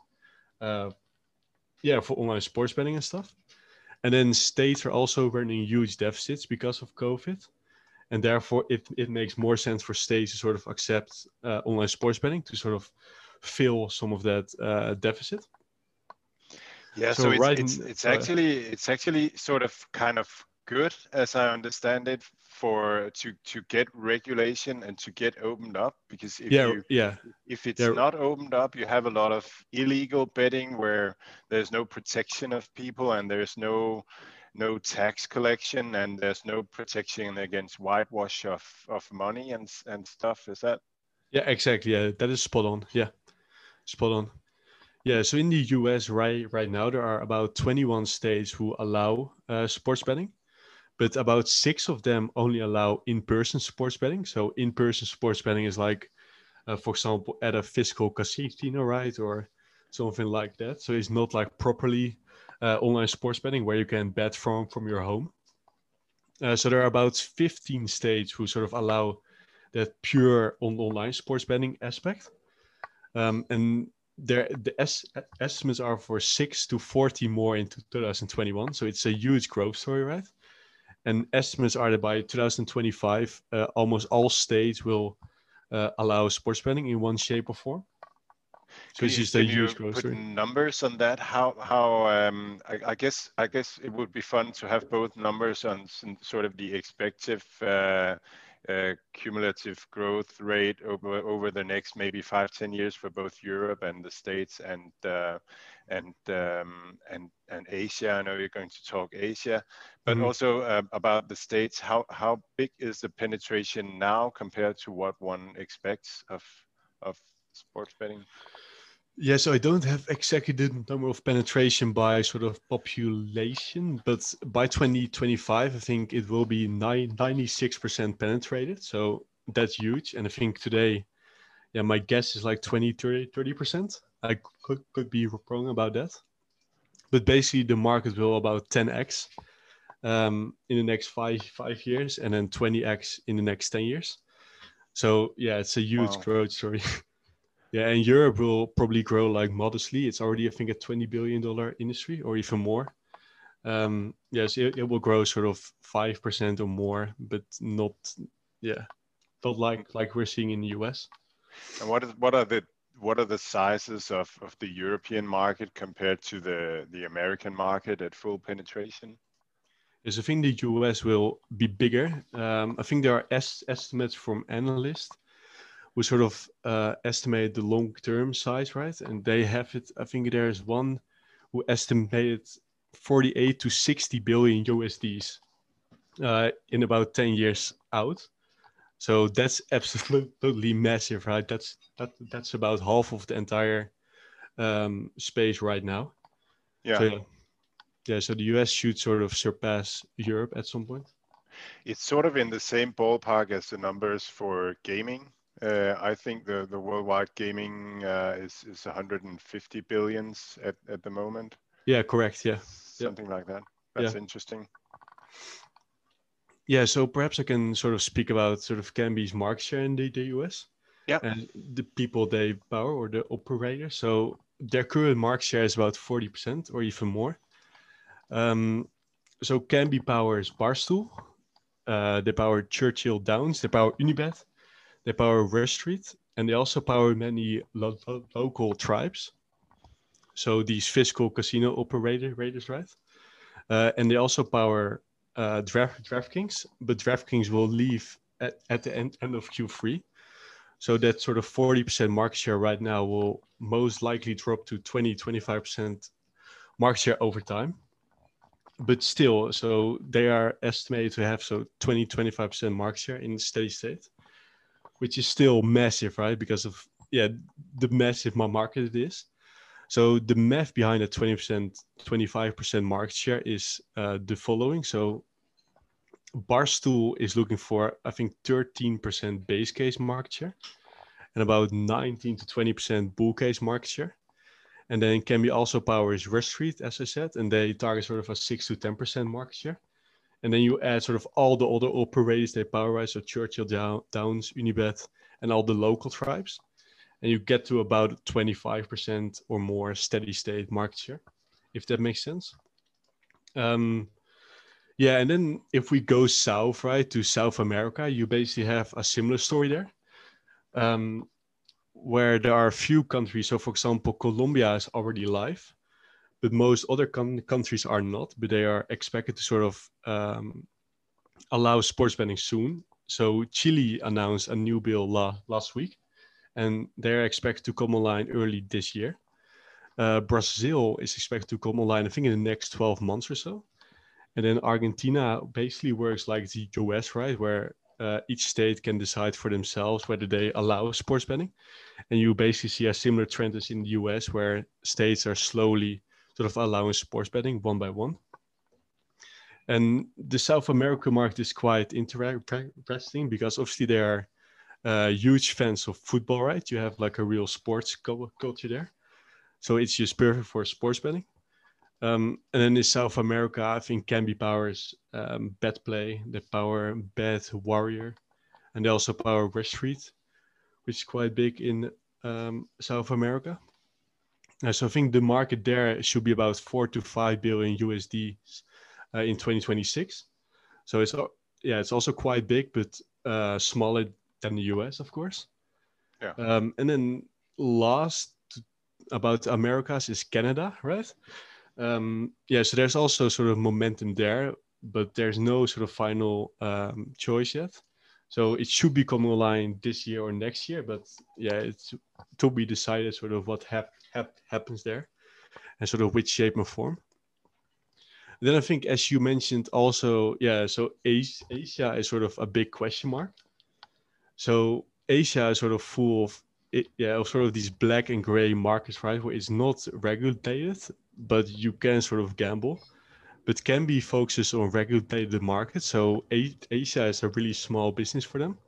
for online sports betting and stuff. And then states are also running huge deficits because of COVID. And therefore it makes more sense for states to sort of accept online sports betting to sort of fill some of that deficit. Yeah, so it's actually sort of kind of good, as I understand it, for to get regulation and to get opened up, because if it's not opened up, you have a lot of illegal betting where there's no protection of people and there's no tax collection and there's no protection against whitewash of money and stuff. Is that? Yeah, exactly. Yeah, that is spot on. Yeah, spot on. Yeah, so in the US right now, there are about 21 states who allow sports betting, but about 6 of them only allow in-person sports betting. So in-person sports betting is like, for example, at a physical casino, right? Or something like that. So it's not like properly online sports betting where you can bet from your home. So there are about 15 states who sort of allow that pure online sports betting aspect. And the estimates are for 6 to 40 more in 2021. So it's a huge growth story, right? And estimates are that by 2025, almost all states will allow sports betting in one shape or form. So it's just a huge growth story. Put numbers on that? I guess it would be fun to have both numbers on sort of the expected cumulative growth rate over the next maybe 5-10 years for both Europe and the States and Asia. I know you're going to talk Asia, but also about the States. How big is the penetration now compared to what one expects of sports betting? Yeah, so I don't have exactly the number of penetration by sort of population, but by 2025, I think it will be 96% penetrated. So that's huge. And I think today, my guess is like 30%. I could be wrong about that. But basically, the market will about 10x in the next five years, and then 20x in the next 10 years. So yeah, it's a huge growth story. Yeah, and Europe will probably grow like modestly. It's already, I think, a $20 billion industry or even more. Yes, it will grow sort of 5% or more, but not like we're seeing in the US. And what are the sizes of the European market compared to the American market at full penetration? Yes, I think the US will be bigger. I think there are estimates from analysts who sort of estimate the long-term size, right? And they have it, I think there's one who estimated 48 to 60 billion USDs in about 10 years out. So that's absolutely massive, right? That's about half of the entire space right now. Yeah. So the US should sort of surpass Europe at some point. It's sort of in the same ballpark as the numbers for gaming. I think the worldwide gaming is 150 billions at the moment. Yeah, correct. Yeah. Something like that. That's interesting. Yeah, so perhaps I can sort of speak about sort of Kambi's market share in the US. Yeah. And the people they power or the operators. So their current market share is about 40% or even more. So Kambi powers Barstool. They power Churchill Downs. They power Unibet. They power Rush Street, and they also power many local tribes. So these fiscal casino operators, right? And they also power DraftKings, but DraftKings will leave at the end of Q3. So that sort of 40% market share right now will most likely drop to 20-25% market share over time. But still, so they are estimated to have 20-25% market share in steady state, which is still massive, right? Because of the massive market it is. So the math behind a 20%, 25% market share is the following. So Barstool is looking for, I think, 13% base case market share and about 19 to 20% bull case market share. And then Kambi also powers Rush Street, as I said, and they target sort of a 6 to 10% market share. And then you add sort of all the other operators they power, right? So Churchill Downs, Unibet, and all the local tribes. And you get to about 25% or more steady state market share, if that makes sense. Yeah, and then if we go south, right, to South America, you basically have a similar story there, where there are a few countries. So, for example, Colombia is already live, but most other countries are not, but they are expected to sort of allow sports betting soon. So Chile announced a new bill last week, and they're expected to come online early this year. Brazil is expected to come online, I think, in the next 12 months or so. And then Argentina basically works like the US, right? Where each state can decide for themselves whether they allow sports betting. And you basically see a similar trend as in the US, where states are slowly sort of allowing sports betting one by one. And the South America market is quite interesting because obviously they are huge fans of football, right? You have like a real sports culture there. So it's just perfect for sports betting. And then in South America, I think Kambi powers BetPlay, they power Bet Warrior, and they also power Rush Street, which is quite big in South America. So I think the market there should be about 4 to 5 billion USD in 2026. So it's also quite big, but smaller than the US, of course. Yeah. And then last about Americas is Canada, right? So there's also sort of momentum there, but there's no sort of final choice yet. So it should be coming online this year or next year, but yeah, it's to be decided sort of what happens there and sort of which shape and form. Then I think, as you mentioned also, so Asia is sort of a big question mark. So Asia is sort of full of sort of these black and gray markets, right? Where it's not regulated, but you can sort of gamble, but Kambi focuses on regulated markets. So Asia is a really small business for them.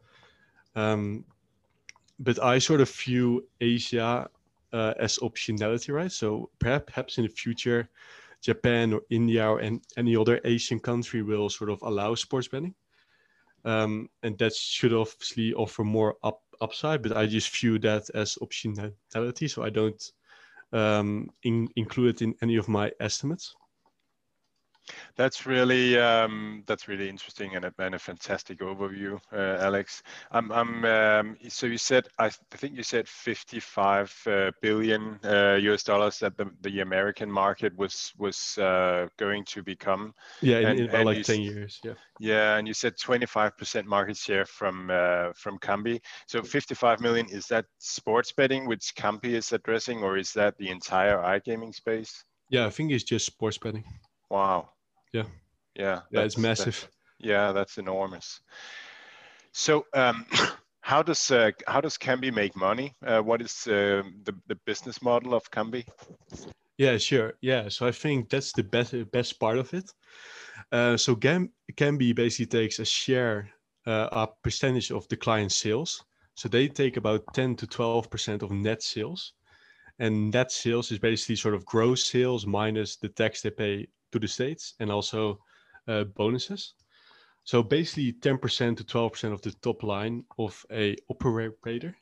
But I sort of view Asia as optionality, right? So perhaps in the future, Japan or India or any other Asian country will sort of allow sports betting. And that should obviously offer more upside, but I just view that as optionality. So I don't include it in any of my estimates. That's really interesting and a fantastic overview, Alex. So you said, I think you said 55 billion US dollars that the American market was going to become. Yeah, in about like 10 years. Yeah. Yeah, and you said 25% market share from Kambi. So 55 million, is that sports betting which Kambi is addressing, or is that the entire iGaming space? Yeah, I think it's just sports betting. Wow. Yeah. Yeah. It's massive. That's enormous. So how does Kambi make money? What is the business model of Kambi? Yeah, sure. Yeah, so I think that's the best part of it. So Kambi basically takes a share, a percentage of the client sales. So they take about 10 to 12% of net sales. And net sales is basically sort of gross sales minus the tax they pay to the states and also bonuses. So basically 10% to 12% of the top line of a operator,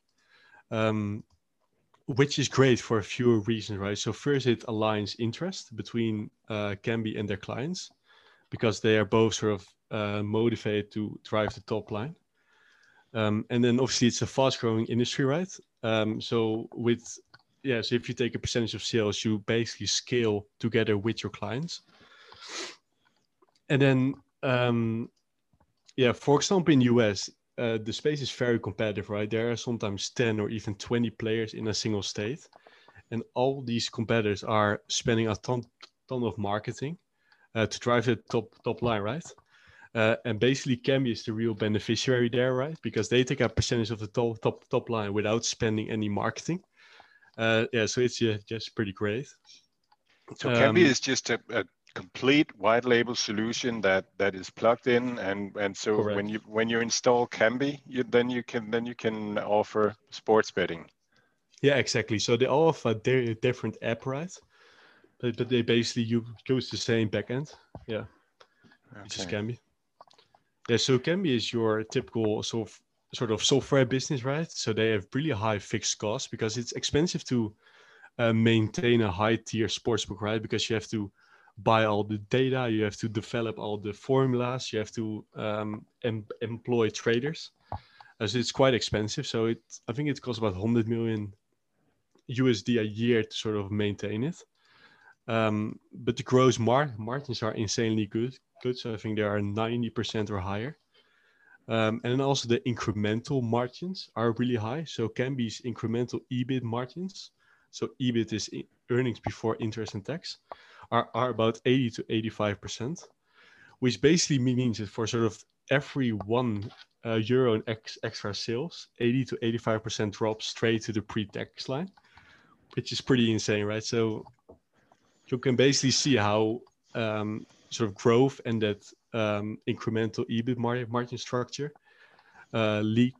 which is great for a few reasons, right? So first, it aligns interest between Kambi and their clients because they are both sort of motivated to drive the top line. And then obviously it's a fast growing industry, right? So if you take a percentage of sales, you basically scale together with your clients. And then, for example, in the US, the space is very competitive, right? There are sometimes 10 or even 20 players in a single state. And all these competitors are spending a ton of marketing to drive the top line, right? And basically, Kambi is the real beneficiary there, right? Because they take a percentage of the top line without spending any marketing. So it's just pretty great. So Kambi is just a complete white label solution that is plugged in, and so correct. when you install Kambi, then you can offer sports betting. Yeah, exactly. So they all have a different app, right? But they basically use the same backend. Yeah, which is Kambi. Yeah, so Kambi is your typical sort of software business, right? So they have really high fixed costs because it's expensive to maintain a high tier sportsbook, right? Because you have to buy all the data, you have to develop all the formulas, you have to employ traders. So it's quite expensive. So I think it costs about 100 million USD a year to sort of maintain it. But the gross margins are insanely good. So I think they are 90% or higher. And then also the incremental margins are really high. So Kambi's incremental EBIT margins, so EBIT is earnings before interest and tax, are about 80 to 85%, which basically means that for sort of every €1 in extra sales, 80 to 85% drops straight to the pre-tax line, which is pretty insane, right? So you can basically see how sort of growth and that incremental EBIT margin structure leads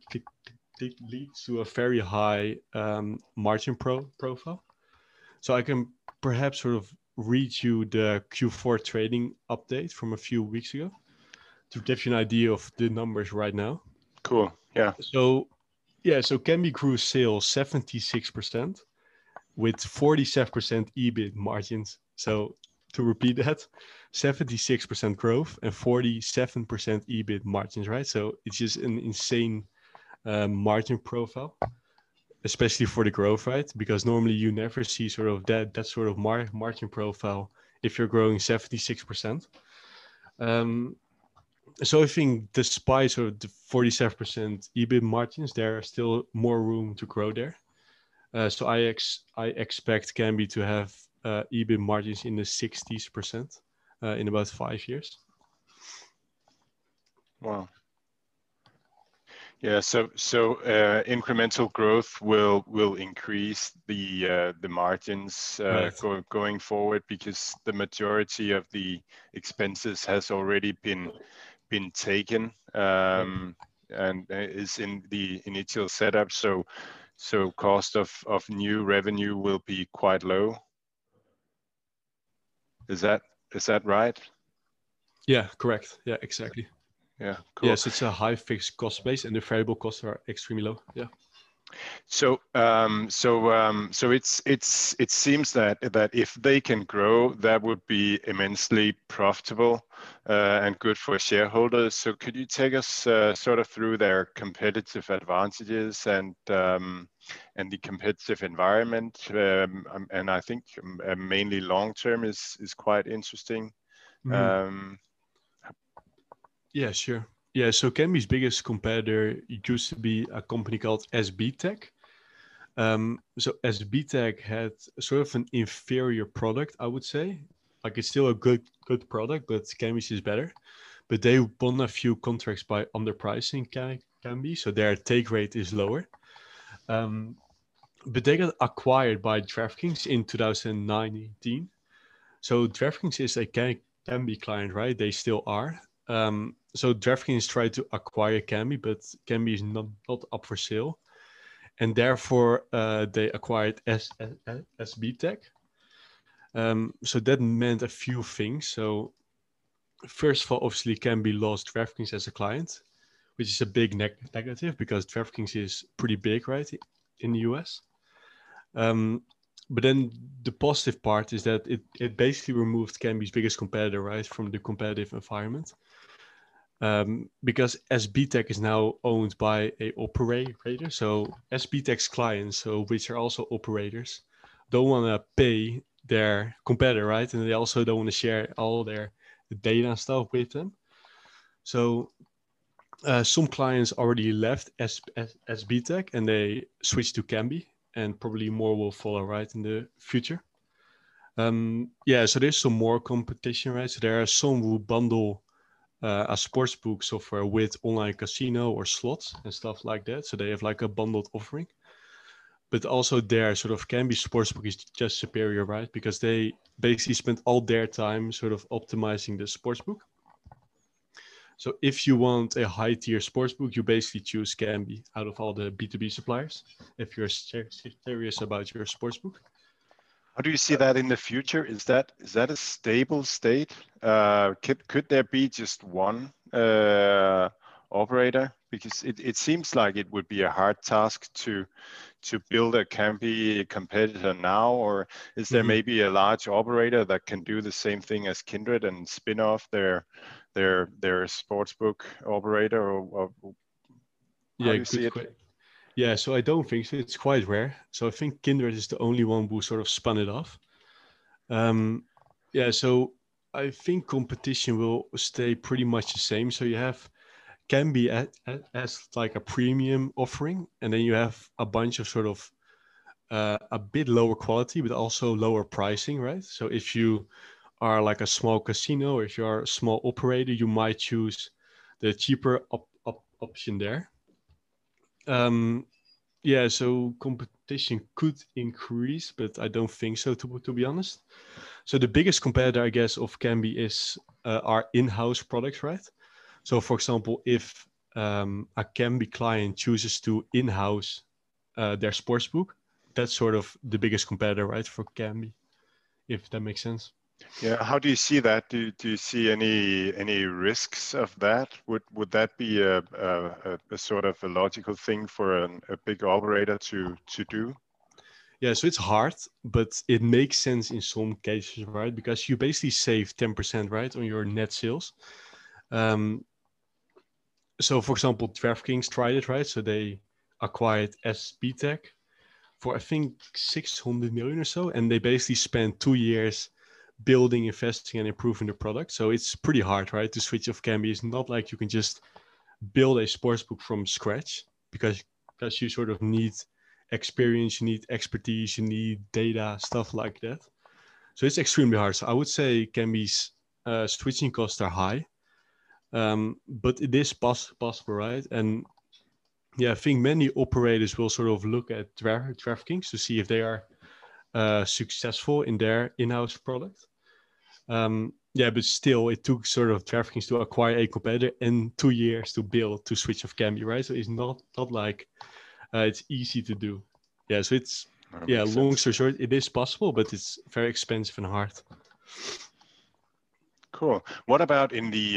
to a very high margin profile. So I can perhaps sort of read you the Q4 trading update from a few weeks ago to give you an idea of the numbers right now. Cool. Yeah. So Kambi grew sales 76% with 47% EBIT margins. So to repeat that, 76% growth and 47% EBIT margins, right? So it's just an insane margin profile, especially for the growth, right? Because normally you never see sort of that sort of margin profile if you're growing 76%. So I think despite sort of the 47% EBIT margins, there are still more room to grow there. So I expect Kambi to have EBIT margins in the 60% in about 5 years. Wow. Yeah, so incremental growth will increase the margins Right. going forward, because the majority of the expenses has already been taken and is in the initial setup. So cost of new revenue will be quite low. Is that right? Yeah, correct. Yeah, exactly. Yeah, cool. Yes, it's a high fixed cost base and the variable costs are extremely low. Yeah. So it seems that if they can grow, that would be immensely profitable and good for shareholders. So could you take us sort of through their competitive advantages and the competitive environment? And I think mainly long term is quite interesting. Yeah, sure. Yeah, so Kambi's biggest competitor used to be a company called SBTech. So SBTech had sort of an inferior product, I would say. Like it's still a good product, but Kambi's is better. But they won a few contracts by underpricing Kambi, so their take rate is lower. But they got acquired by DraftKings in 2019. So DraftKings is a Kambi client, right? They still are. So DraftKings tried to acquire Kambi, but Kambi is not up for sale. And therefore, they acquired SBTech. So that meant a few things. So first of all, obviously, Kambi lost DraftKings as a client, which is a big negative because DraftKings is pretty big, right, in the US. But then the positive part is that it basically removed Kambi's biggest competitor, right, from the competitive environment. Because SBTech is now owned by a operator. So SBTech's clients, so which are also operators, don't want to pay their competitor, right? And they also don't want to share all their data and stuff with them. So some clients already left SBTech and they switched to Kambi, and probably more will follow, right, in the future. So there's some more competition, right? So there are some who bundle a sportsbook software with online casino or slots and stuff like that. So they have like a bundled offering. but also their sort of Kambi sportsbook is just superior, right? Because they basically spend all their time sort of optimizing the sportsbook. So if you want a high tier sportsbook, you basically choose Kambi out of all the B2B suppliers if you're serious about your sportsbook. How do you see that in the future? Is that a stable state? Could there be just one operator? Because it seems like it would be a hard task to build a Kambi competitor now, or is there maybe a large operator that can do the same thing as Kindred and spin off their sportsbook operator? Or how do you see it? Yeah, so I don't think so. It's quite rare. So I think Kindred is the only one who sort of spun it off. Yeah, so I think competition will stay pretty much the same. So you have Kambi as like a premium offering, and then you have a bunch of sort of a bit lower quality, but also lower pricing, right? So if you are like a small casino, or if you are a small operator, you might choose the cheaper option there. Yeah, so competition could increase, but I don't think so, to be honest. So the biggest competitor, I guess, of Kambi is our in-house products, right? So, for example, if a Kambi client chooses to in-house their sportsbook, that's sort of the biggest competitor, right, for Kambi, if that makes sense. Yeah, how do you see that? Do you see any risks of that? Would that be a sort of a logical thing for a big operator to do? Yeah, so it's hard, but it makes sense in some cases, right? Because you basically save 10%, right, on your net sales. So, for example, DraftKings tried it, right? So they acquired SBTech for, I think, 600 million or so, and they basically spent 2 years building, investing, and improving the product. So it's pretty hard, right, to switch off Kambi. It's not like you can just build a sportsbook from scratch, because you sort of need experience, you need expertise, you need data, stuff like that. So it's extremely hard. So I would say Kambi's switching costs are high, but it is possible, right? And yeah, I think many operators will sort of look at DraftKings to see if they are successful in their in-house product. Yeah, but still, it took sort of DraftKings to acquire a competitor and 2 years to build to switch off Kambi, right? So it's not like it's easy to do. Yeah, so it's long story short, it is possible, but it's very expensive and hard. Cool. What about in the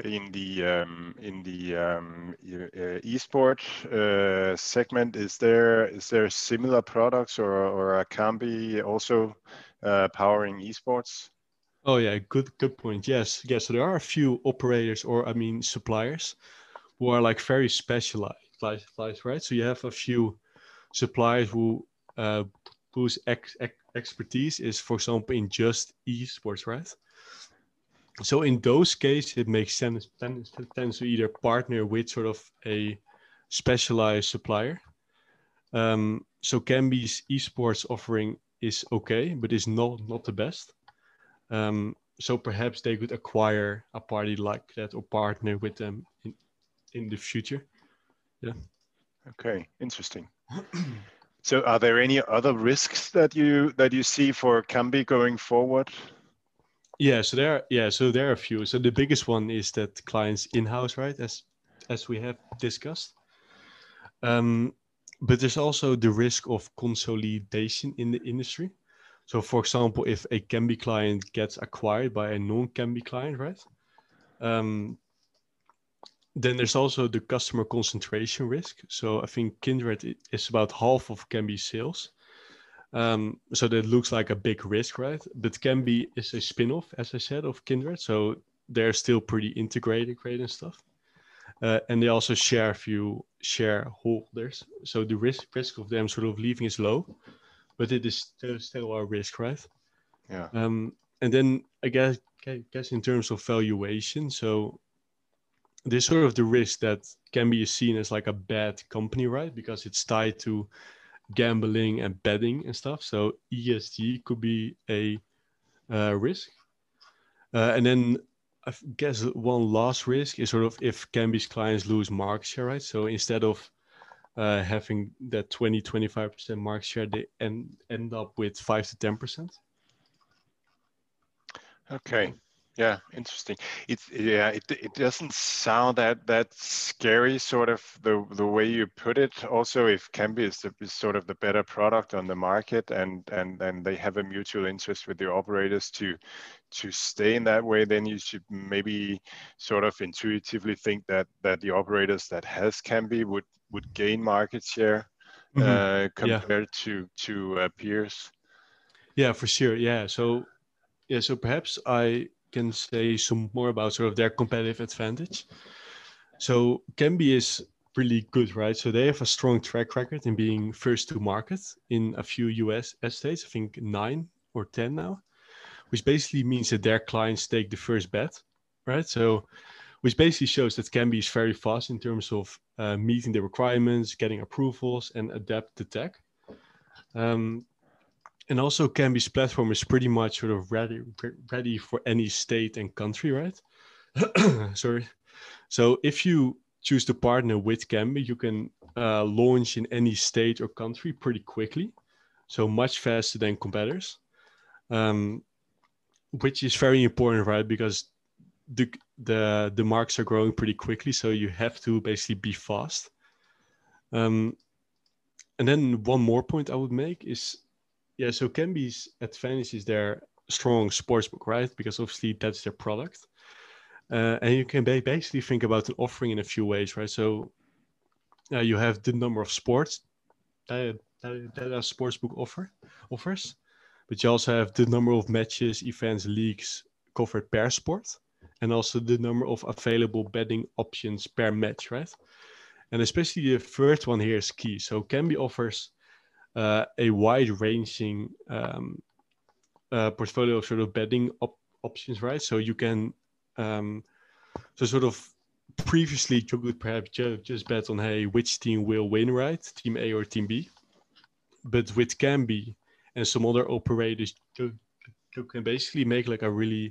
esport segment? Is there similar products or a Kambi also powering esports? Oh yeah, good point. Yes. So there are a few operators, or I mean suppliers, who are like very specialized, right? So you have a few suppliers whose expertise is, for example, in just esports, right? So in those cases, it makes sense to either partner with sort of a specialized supplier. So Kambi's esports offering is okay, but is not the best. So perhaps they could acquire a party like that or partner with them in the future. Yeah. Okay, interesting. So are there any other risks that you see for Kambi going forward? Yeah, so there are a few. So the biggest one is that clients in-house, right? As we have discussed. But there's also the risk of consolidation in the industry. So for example, if a Kambi client gets acquired by a non-Kambi client, right? Then there's also the customer concentration risk. So I think Kindred is about half of Kambi sales. So that looks like a big risk, right? But Kambi is a spin-off, as I said, of Kindred. So they're still pretty integrated, great and stuff. And they also share a few shareholders. So the risk of them sort of leaving is low, but it is still a risk, right? Yeah. And then I guess in terms of valuation, so there's sort of the risk that Kambi is seen as like a bad company, right? Because it's tied to gambling and betting and stuff. So ESG could be a risk. And then I guess one last risk is sort of if Kambi's clients lose market share, right? So instead of having that 20-25% market share, they end up with 5 to 10%. Okay. Yeah, interesting. It doesn't sound that scary, sort of the way you put it. Also, if Kambi is sort of the better product on the market, and they have a mutual interest with the operators to stay in that way, then you should maybe sort of intuitively think that the operators that has Kambi would gain market share compared to peers. Yeah, for sure. Yeah. So perhaps I can say some more about sort of their competitive advantage. So Kambi is really good, right? So they have a strong track record in being first to market in a few US states, I think 9 or 10 now, which basically means that their clients take the first bet, right? So which basically shows that Kambi is very fast in terms of meeting the requirements, getting approvals, and adapt the tech. And also Kambi's platform is pretty much sort of ready for any state and country, right? Sorry. So if you choose to partner with Kambi, you can launch in any state or country pretty quickly. So much faster than competitors, which is very important, right? Because the markets are growing pretty quickly. So you have to basically be fast. And then one more point I would make is, so Kambi's advantage is their strong sportsbook, right? Because obviously that's their product. And you can basically think about an offering in a few ways, right? So you have the number of sports that a sportsbook offers, but you also have the number of matches, events, leagues covered per sport, and also the number of available betting options per match, right? And especially the third one here is key. So Kambi offers a wide-ranging portfolio of sort of betting options, right? So you can, so sort of previously you could perhaps just bet on, hey, which team will win, right? Team A or Team B. But with Kambi and some other operators, you can basically make like a really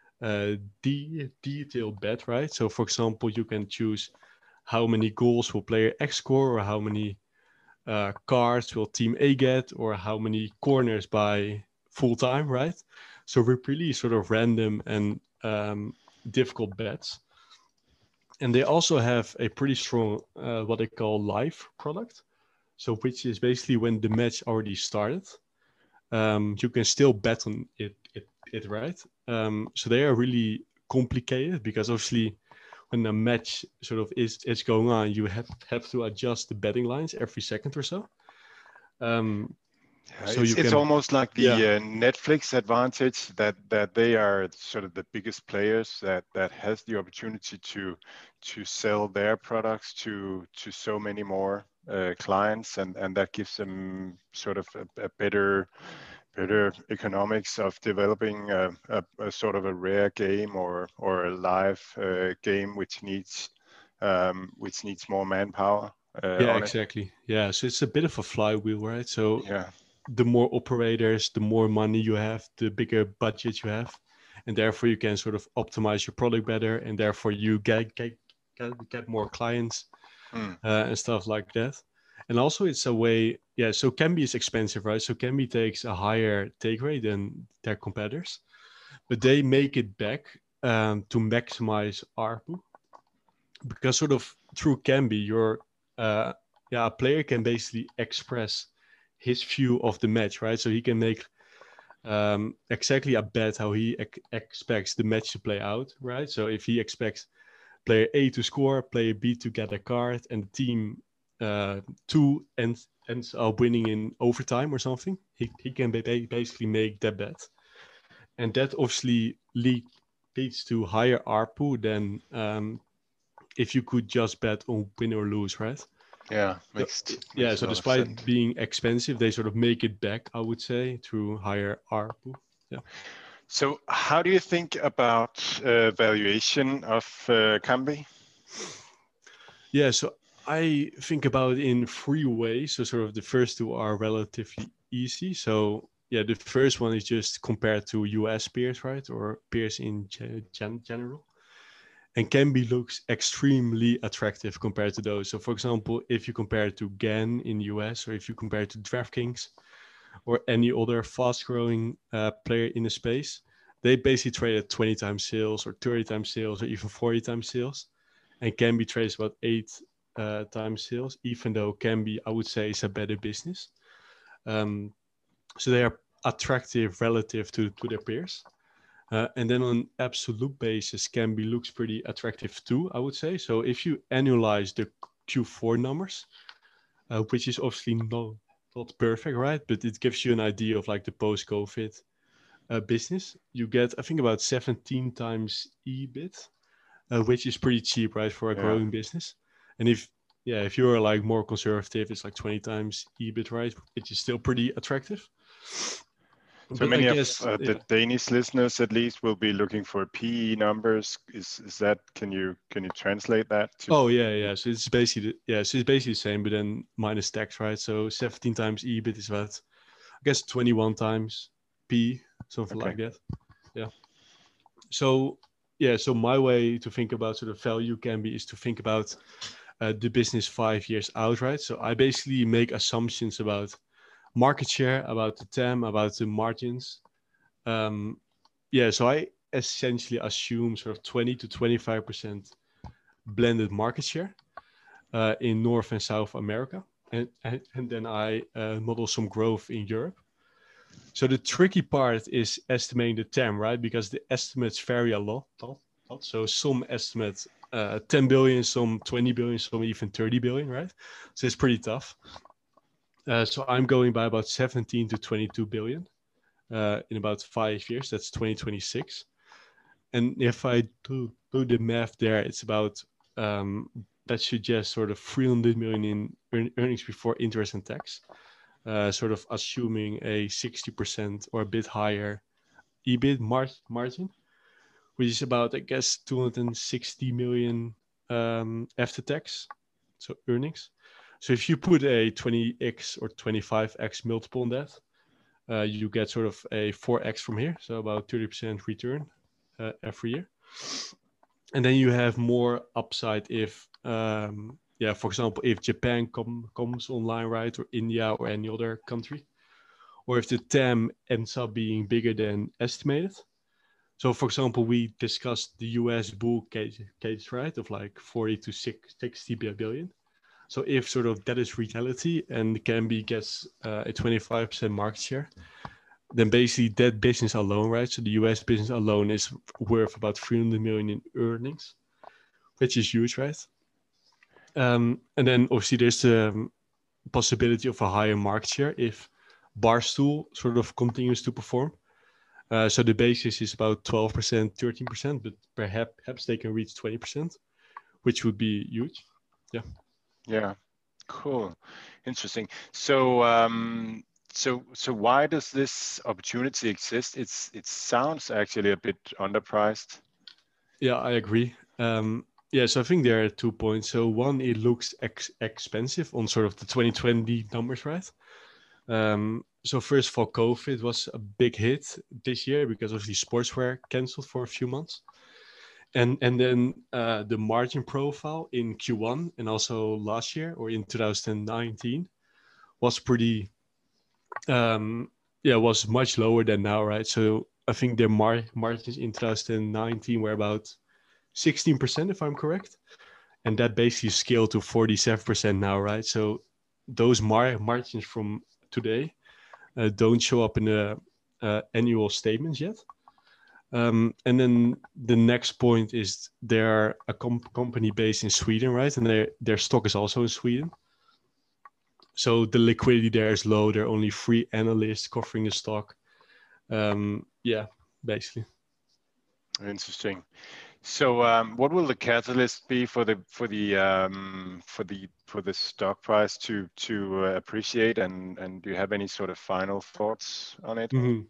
detailed bet, right? So for example, you can choose how many goals will player X score, or how many cards will team A get, or how many corners by full time, right? So we're really sort of random and difficult bets. And they also have a pretty strong what they call live product. So which is basically when the match already started, you can still bet on it right? So they are really complicated because obviously when a match sort of is going on, you have to adjust the betting lines every second or so. So it's almost like the Netflix advantage that they are sort of the biggest players that has the opportunity to sell their products to so many more clients, and that gives them sort of a better economics of developing a sort of a rare game or a live game which needs more manpower. Exactly. Yeah, so it's a bit of a flywheel, right? So the more operators, the more money you have, the bigger budget you have, and therefore you can sort of optimize your product better, and therefore you get more clients and stuff like that. And also it's a way, so Kambi is expensive, right? So Kambi takes a higher take rate than their competitors, but they make it back to maximize ARPU, because sort of through Kambi, a player can basically express his view of the match, right? So he can make exactly a bet how he expects the match to play out, right? So if he expects player A to score, player B to get a card, and team 2 ends up winning in overtime or something, he can basically make that bet. And that obviously leads to higher ARPU than if you could just bet on win or lose, right? So despite being expensive, they sort of make it back, I would say, through higher ARPU. Yeah. So how do you think about valuation of Kambi? Yeah, so I think about it in 3 ways. So sort of the first 2 are relatively easy. So the first one is just compared to US peers, right? Or peers in general. and Kambi looks extremely attractive compared to those. So for example, if you compare it to GAN in the US, or if you compare it to DraftKings or any other fast growing player in the space, they basically trade at 20 times sales or 30 times sales or even 40 times sales. And Kambi trades about 8 times sales, even though Kambi, I would say, is a better business. So they are attractive relative to their peers. And then on absolute basis, Kambi looks pretty attractive too, I would say. So if you annualize the Q4 numbers, which is obviously not perfect, right? But it gives you an idea of like the post-COVID business. You get, I think, about 17 times EBIT, which is pretty cheap, right, for a growing business. And if you're like more conservative, it's like 20 times EBIT, right, which is still pretty attractive. So many of the Danish listeners, at least, will be looking for PE numbers. Is that? Can you translate that? Oh yeah. So it's basically the same, but then minus tax, right? So 17 times EBIT is about, I guess, 21 times PE, something like that. Yeah. So my way to think about sort of value Kambi is to think about the business 5 years out, right? So I basically make assumptions about market share, about the TAM, about the margins. So I essentially assume sort of 20 to 25% blended market share in North and South America. And then I model some growth in Europe. So the tricky part is estimating the TAM, right? Because the estimates vary a lot. So some estimates 10 billion, some 20 billion, some even 30 billion, right? So it's pretty tough. So I'm going by about 17 to 22 billion in about 5 years. That's 2026. And if I do the math there, it's about, that suggests sort of 300 million in earnings before interest and tax, sort of assuming a 60% or a bit higher EBIT margin, which is about, I guess, 260 million after tax, so earnings. So if you put a 20x or 25x multiple on that, you get sort of a 4x from here, so about 30% return every year. And then you have more upside if, for example, if Japan comes online, right, or India or any other country, or if the TAM ends up being bigger than estimated. So, for example, we discussed the US bull case, right, of like 40 to 60 billion. So if sort of that is reality and Kambi gets a 25% market share, then basically that business alone, right? So the US business alone is worth about 300 million in earnings, which is huge, right? And then obviously there's the possibility of a higher market share if Barstool sort of continues to perform. So the basis is about 12%, 13%, but perhaps they can reach 20%, which would be huge. Yeah. Yeah, cool, interesting. So, so why does this opportunity exist? It sounds actually a bit underpriced. Yeah, I agree. So I think there are 2 points. So one, it looks expensive on sort of the 2020 numbers, right? So first of all, COVID was a big hit this year because obviously sports were canceled for a few months. And then the margin profile in Q1 and also last year or in 2019 was pretty, was much lower than now, right? So I think their margins in 2019 were about 16%, if I'm correct. And that basically scaled to 47% now, right? So those margins from today don't show up in the annual statements yet. And then the next point is they're a company based in Sweden, right? And their stock is also in Sweden. So the liquidity there is low. There are only 3 analysts covering the stock. Basically. Interesting. So, what will the catalyst be for the stock price to appreciate? And do you have any sort of final thoughts on it? Mm-hmm.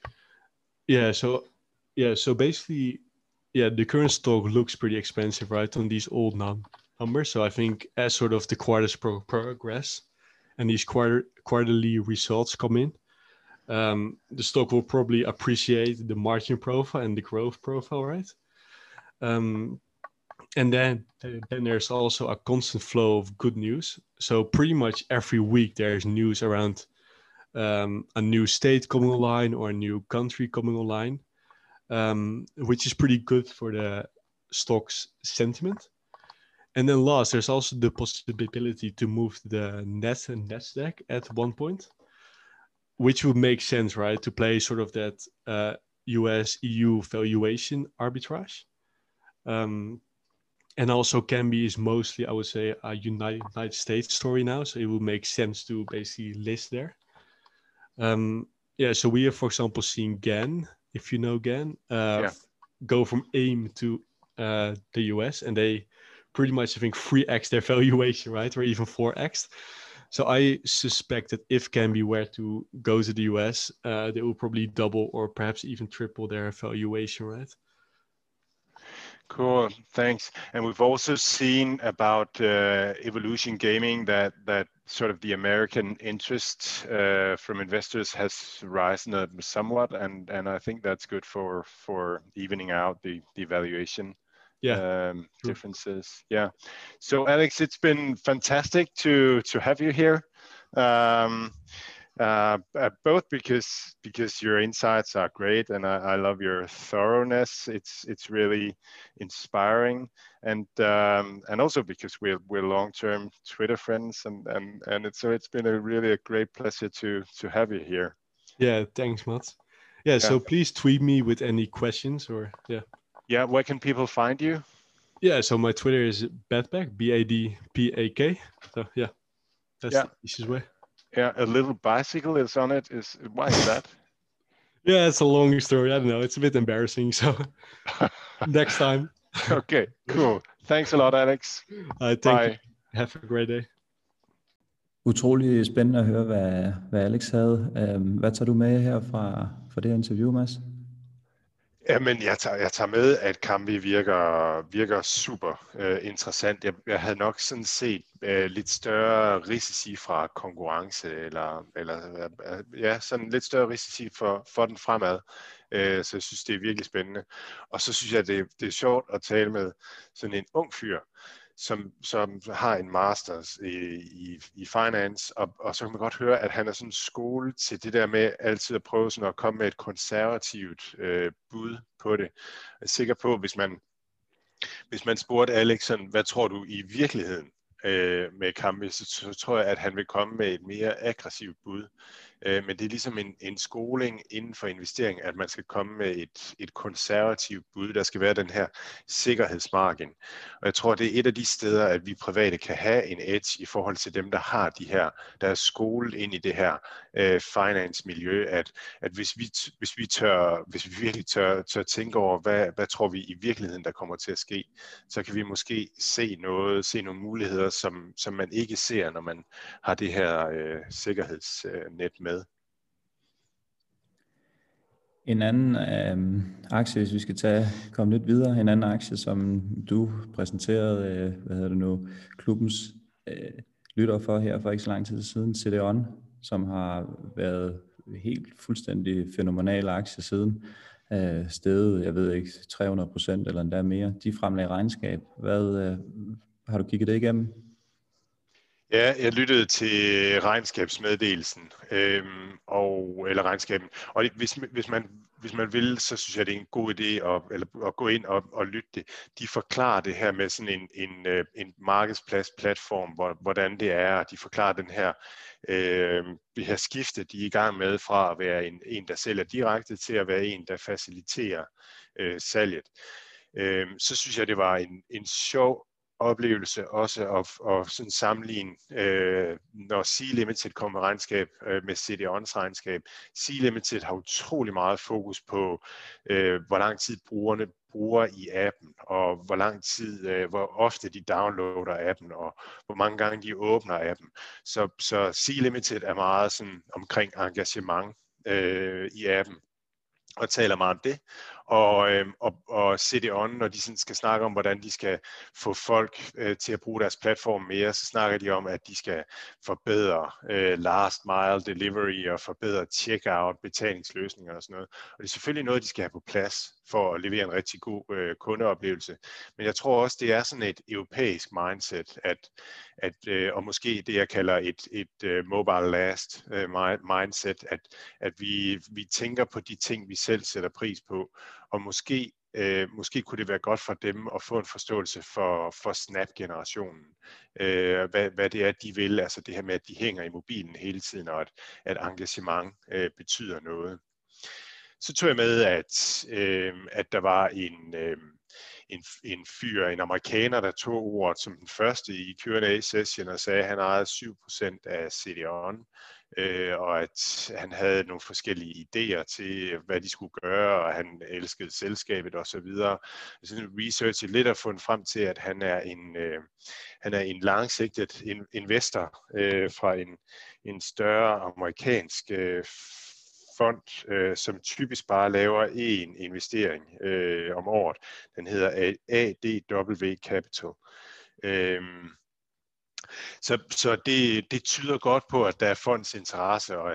So basically, the current stock looks pretty expensive, right, on these old numbers. So I think as sort of the quarters progress and these quarterly results come in, the stock will probably appreciate the margin profile and the growth profile, right? And then there's also a constant flow of good news. So pretty much every week there's news around a new state coming online or a new country coming online, which is pretty good for the stock's sentiment. And then last, there's also the possibility to move the Nasdaq at one point, which would make sense, right? To play sort of that US-EU valuation arbitrage. And also Kambi is mostly, I would say, a United States story now. So it would make sense to basically list there. So we have, for example, seen GAN, if you know GAN, go from AIM to the US, and they pretty much, I think, 3x their valuation, right? Or even 4x. So I suspect that if Kambi were to go to the US, they will probably double or perhaps even triple their valuation, right? Cool, thanks. And we've also seen about Evolution Gaming that sort of the American interest from investors has risen somewhat, and I think that's good for evening out the valuation differences. Yeah. So Alex, it's been fantastic to have you here. Both because your insights are great, and I love your thoroughness. It's really inspiring, and also because we're long-term Twitter friends, and it's been a great pleasure to have you here. Yeah, thanks, Mats. Yeah, so please tweet me with any questions or Yeah, where can people find you? Yeah, so my Twitter is Badpak, BADPAK. So that's the easiest way. Yeah, a little bicycle is on it. Why is that? Yeah, it's a long story. I don't know. It's a bit embarrassing. So next time. Okay, cool. Thanks a lot, Alex. Thank you. Have a great day. Utrolig spændende at høre, hvad Alex havde. Hvad tager du med her fra det her interview, Mads? Jamen, jeg tager med, at Kambi virker super interessant. Jeg havde nok sådan set lidt større risici fra konkurrence, eller sådan lidt større risici for den fremad. Så jeg synes, det er virkelig spændende. Og så synes jeg, det er sjovt at tale med sådan en ung fyr, som har en masters i finance, og så kan man godt høre, at han er sådan skolet til det der med altid at prøve sådan at komme med et konservativt bud på det. Jeg er sikker på, hvis man spurgte Alex sådan, hvad tror du i virkeligheden med Kambi, så tror jeg, at han vil komme med et mere aggressivt bud. Men det er ligesom en skoling inden for investering, at man skal komme med et konservativt bud. Der skal være den her sikkerhedsmargin. Og jeg tror, det er et af de steder, at vi private kan have en edge i forhold til dem, der har der er skolet ind i det her finance-miljø, at hvis vi virkelig tør tænke over, hvad tror vi i virkeligheden, der kommer til at ske, så kan vi måske se nogle muligheder, som man ikke ser, når man har det her sikkerhedsnet med. En anden aktie, hvis vi skal komme lidt videre, en anden aktie, som du præsenterede, klubbens lytter for her for ikke så lang tid siden, CDON, som har været helt fuldstændig fænomenal aktie siden, steget, jeg ved ikke, 300% eller endda mere. De fremlagde regnskab. Har du kigget det igennem? Ja, jeg lyttede til regnskabsmeddelelsen, eller regnskaben. Og hvis man vil, så synes jeg, det er en god idé at gå ind og lytte det. De forklarer det her med sådan en markedsplatform, hvordan det er. De forklarer det her skifte, de er i gang med fra at være en der sælger direkte, til at være en, der faciliterer salget. Så synes jeg, det var en sjov oplevelse også at sådan sammenligne, når Sea Limited kommer med regnskab med CDON's regnskab. Sea Limited har utrolig meget fokus på, hvor lang tid brugerne bruger i appen, og hvor ofte de downloader appen, og hvor mange gange de åbner appen. Så Sea Limited er meget sådan omkring engagement i appen, og taler meget om det. og CDON, når de sådan skal snakke om, hvordan de skal få folk til at bruge deres platform mere, så snakker de om, at de skal forbedre last mile delivery og forbedre checkout, betalingsløsninger og sådan noget. Og det er selvfølgelig noget, de skal have på plads for at levere en rigtig god kundeoplevelse. Men jeg tror også, det er sådan et europæisk mindset, og måske det, jeg kalder et mobile last mindset, at vi tænker på de ting, vi selv sætter pris på, og måske kunne det være godt for dem at få en forståelse for Snap-generationen. Hvad det er, de vil, altså det her med, at de hænger i mobilen hele tiden, og at engagement betyder noget. Så tog jeg med, at der var en amerikaner, der tog ordet som den første i Q&A-session og sagde, at han ejede 7% af CDON, og at han havde nogle forskellige idéer til, hvad de skulle gøre, og han elskede selskabet osv. Så researchet lidt og fundet frem til, at han er en langsigtet investor fra en større amerikansk fond, som typisk bare laver en investering om året. Den hedder ADW Capital. Så det tyder godt på, at der er fonds interesse, og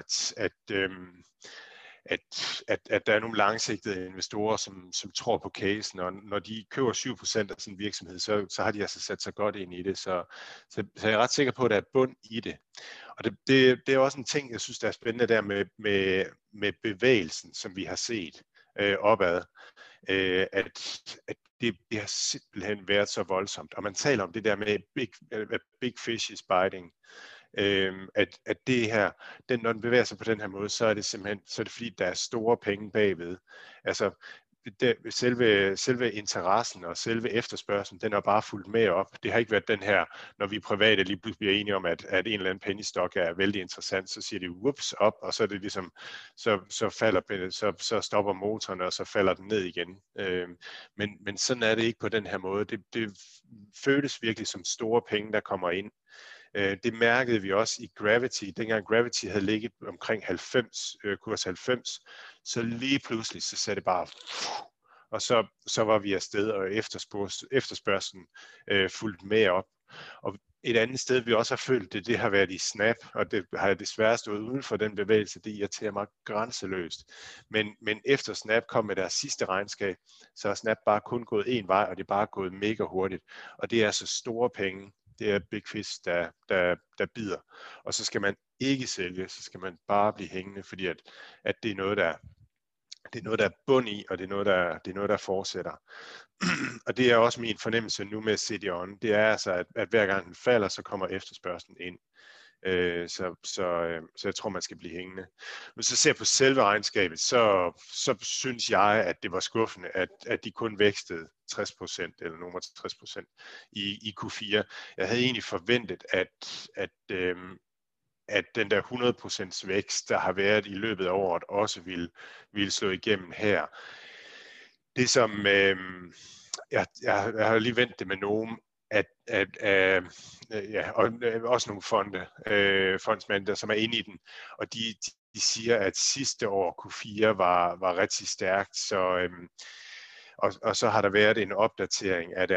at der er nogle langsigtede investorer, som tror på casen, og når de køber 7% af sådan en virksomhed, så har de altså sat sig godt ind i det. Så jeg er ret sikker på, at der er bund i det. Og det er også en ting, jeg synes, der er spændende der med bevægelsen, som vi har set opad, at det har simpelthen været så voldsomt. Og man taler om det der med big fish is biting. At det her, når den bevæger sig på den her måde, så er det simpelthen, så er det fordi, der er store penge bagved. Altså, selve interessen og selve efterspørgselen, den er bare fulgt med op. Det har ikke været den her, når vi private lige pludselig bliver enige om, at en eller anden penny stock er vældig interessant, så siger det whoops op, og så er det ligesom, så stopper motoren, og så falder den ned igen. Men sådan er det ikke på den her måde. Det føles virkelig som store penge, der kommer ind. Det mærkede vi også i Gravity. Dengang Gravity havde ligget omkring 90, kurs 90, så lige pludselig så satte det bare, og så var vi afsted, og efterspørgselen fulgt med op. Og et andet sted, vi også har følt det har været i Snap, og det har jeg desværre stået uden for den bevægelse. Det irriterer mig grænseløst. Men efter Snap kom med deres sidste regnskab, så har Snap bare kun gået en vej, og det er bare gået mega hurtigt. Og det er altså store penge. Det er big fish, der bider. Og så skal man ikke sælge, så skal man bare blive hængende, fordi at det er noget, der er bund i, og det er noget, der fortsætter. Og det er også min fornemmelse nu med CDON. Det er altså, at hver gang den falder, så kommer efterspørgselen ind. Så jeg tror, man skal blive hængende. Hvis jeg ser på selve regnskabet, så synes jeg, at det var skuffende, at de kun vækstede 60% eller nummer 60% i Q4. Jeg havde egentlig forventet, at den der 100% vækst, der har været i løbet af året, også ville slå igennem her. Det som jeg har lige vendt det med nogen, og også nogle fondsmænd, som er inde i den, og de siger, at sidste år Q4 var rigtig stærkt, og så har der været en opdatering af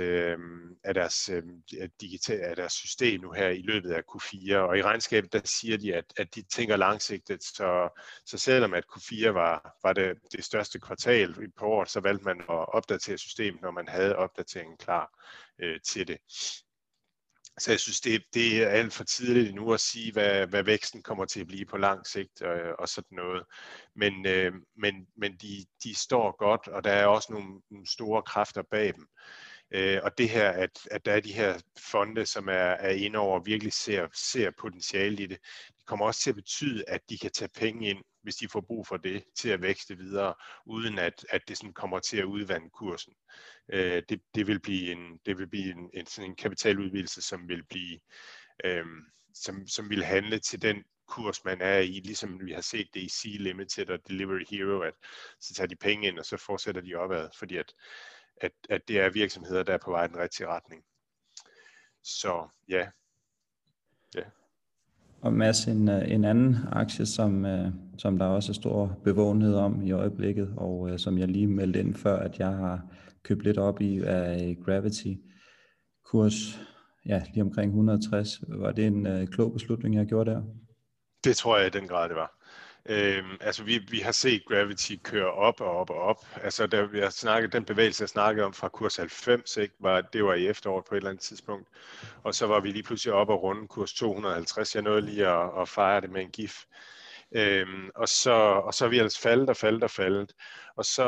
deres system nu her i løbet af Q4, og i regnskabet der siger de, at de tænker langsigtet, så selvom at Q4 var det største kvartal på året, så valgte man at opdatere systemet, når man havde opdateringen klar til det. Så jeg synes, det er alt for tidligt endnu at sige, hvad væksten kommer til at blive på lang sigt og sådan noget. Men de står godt, og der er også nogle store kræfter bag dem. Og det her, at der er de her fonde, som er inde over og virkelig ser potentiale i det, det kommer også til at betyde, at de kan tage penge ind, hvis de får brug for det, til at vækste videre, uden at det sådan kommer til at udvande kursen. Det vil blive sådan en kapitaludvidelse, som vil blive, som vil handle til den kurs, man er i, ligesom vi har set det i Sea Limited og Delivery Hero, at så tager de penge ind, og så fortsætter de opad, fordi at det er virksomheder, der er på vej i den rigtige retning. Så ja. Og Mads, en anden aktie, som der også er stor bevågenhed om i øjeblikket, og som jeg lige meldte ind før, at jeg har købt lidt op i, er Gravity. Kurs lige omkring 160. Var det en klog beslutning, jeg gjorde der? Det tror jeg i den grad, det var. Altså vi har set Gravity køre op og op og op. Altså da vi har snakket, den bevægelse, jeg snakkede om fra kurs 90, ikke, det var i efteråret på et eller andet tidspunkt. Og så var vi lige pludselig op og runde kurs 250. Jeg nåede lige at fejre det med en gif. Og så er vi ellers faldet. Og så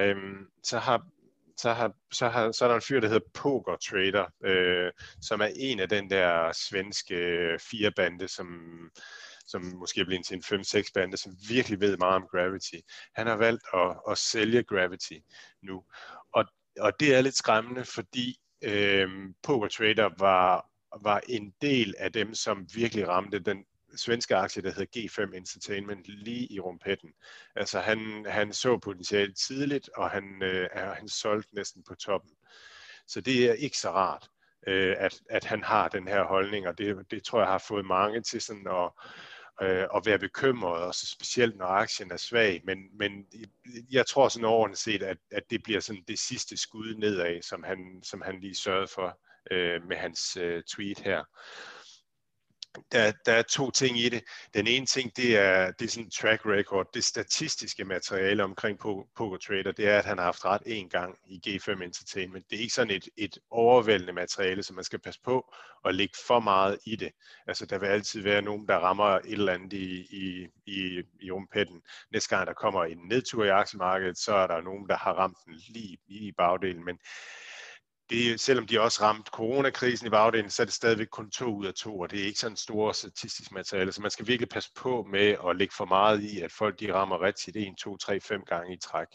er der en fyr, der hedder Poker Trader, som er en af den der svenske 4-bande, som måske er blevet til en 5-6 bande, som virkelig ved meget om Gravity. Han har valgt at sælge Gravity nu. Og det er lidt skræmmende, fordi Poker Trader var en del af dem, som virkelig ramte den svenske aktie, der hedder G5 Entertainment, lige i rumpetten. Altså han så potentiale tidligt, og han solgte næsten på toppen. Så det er ikke så rart, at han har den her holdning, og det tror jeg har fået mange til sådan at være bekymret, og så specielt når aktien er svag, men jeg tror sådan overordnet set, at det bliver sådan det sidste skud nedad, som han lige sørgede for med hans tweet her. Der er to ting i det. Den ene ting, det er sådan track record, det statistiske materiale omkring Poker Trader, det er, at han har haft ret en gang i G5 Entertainment. Det er ikke sådan et overvældende materiale, som man skal passe på at lægge for meget i det. Altså, der vil altid være nogen, der rammer et eller andet i rumpetten. Næste gang, der kommer en nedtur i aktiemarkedet, så er der nogen, der har ramt den lige i bagdelen, men selvom de også ramte coronakrisen i bagdelen, så er det stadigvæk kun 2 ud af 2, og det er ikke sådan store statistisk materiale, så man skal virkelig passe på med at lægge for meget i, at folk de rammer rigtigt 1, 2, 3, 5 gange i træk.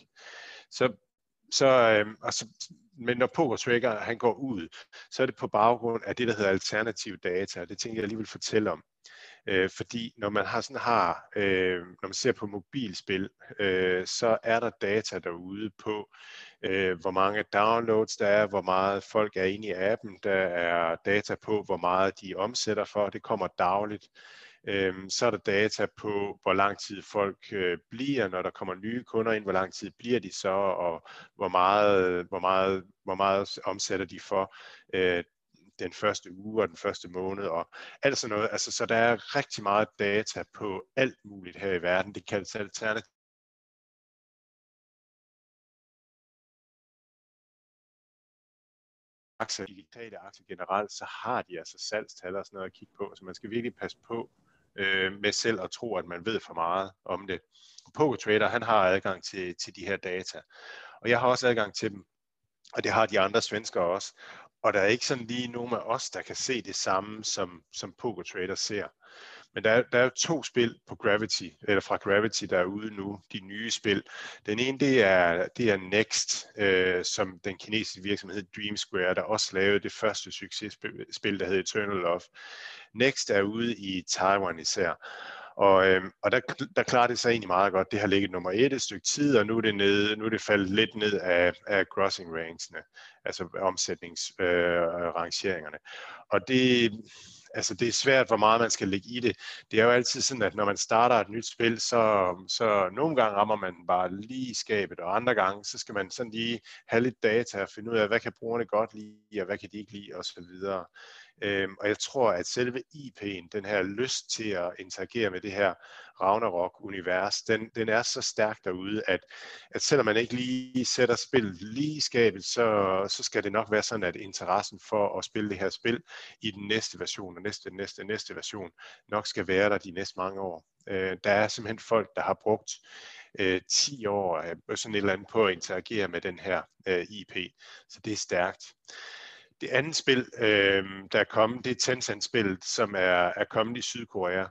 Men når Poker Trader han går ud, så er det på baggrund af det, der hedder alternativ data, og det tænker jeg lige vil fortælle om. Fordi når man når man ser på mobilspil, så er der data derude på, hvor mange downloads der er, hvor meget folk er inde i appen, der er data på, hvor meget de omsætter for, det kommer dagligt. Så er der data på, hvor lang tid folk bliver, når der kommer nye kunder ind, hvor lang tid bliver de så, og hvor meget omsætter de for den første uge og den første måned og alt sådan noget. Altså, så der er rigtig meget data på alt muligt her i verden. Det kaldes alternativ. Digitale aktier generelt, så har de altså salgstal og sådan noget at kigge på, så man skal virkelig passe på med selv at tro, at man ved for meget om det. Poker Trader, han har adgang til de her data, og jeg har også adgang til dem, og det har de andre svenskere også. Og der er ikke sådan lige nogen af os, der kan se det samme, som Poker Trader ser. Men der er jo 2 spil på Gravity, eller fra Gravity, der er ude nu, de nye spil. Den ene, det er Next, som den kinesiske virksomhed Dream Square, der også lavede det første successpil, der hed Eternal Love. Next er ude i Taiwan især. Og der klarer det sig egentlig meget godt. Det har ligget nummer 1 et stykke tid, og nu er det faldet lidt ned af grossing rangesene, altså omsætningsrangeringerne. Og det er svært, hvor meget man skal lægge i det. Det er jo altid sådan, at når man starter et nyt spil, så nogle gange rammer man bare lige i skabet, og andre gange, så skal man sådan lige have lidt data og finde ud af, hvad kan brugerne godt lide, og hvad kan de ikke lide, osv. Og jeg tror, at selve IP'en, den her lyst til at interagere med det her Ragnarok-univers, den er så stærk derude, at selvom man ikke lige sætter spillet lige i skabet, så skal det nok være sådan, at interessen for at spille det her spil i den næste version og næste version nok skal være der de næste mange år. Der er simpelthen folk, der har brugt 10 år sådan et eller andet på at interagere med den her IP, så det er stærkt. Det andet spil, der er kommet, det er Tencent-spillet, som er kommet i Sydkorea.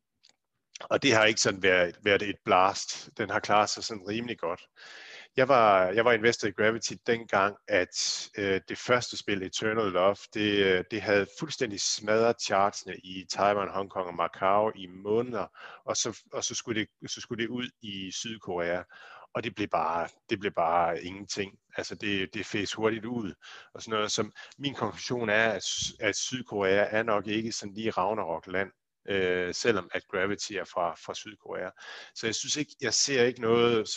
Og det har ikke sådan været et blast. Den har klaret sig sådan rimelig godt. Jeg var investor i Gravity dengang, at det første spil, Eternal Love, det havde fuldstændig smadret chartsene i Taiwan, Hongkong og Macau i måneder, og så skulle det ud i Sydkorea. Og det blev bare ingenting. Altså det fæs hurtigt ud. Og sådan noget, som min konklusion er, at Sydkorea er nok ikke sådan lige Ragnarok-land. selvom at Gravity er fra Sydkorea. Så jeg ser ikke noget,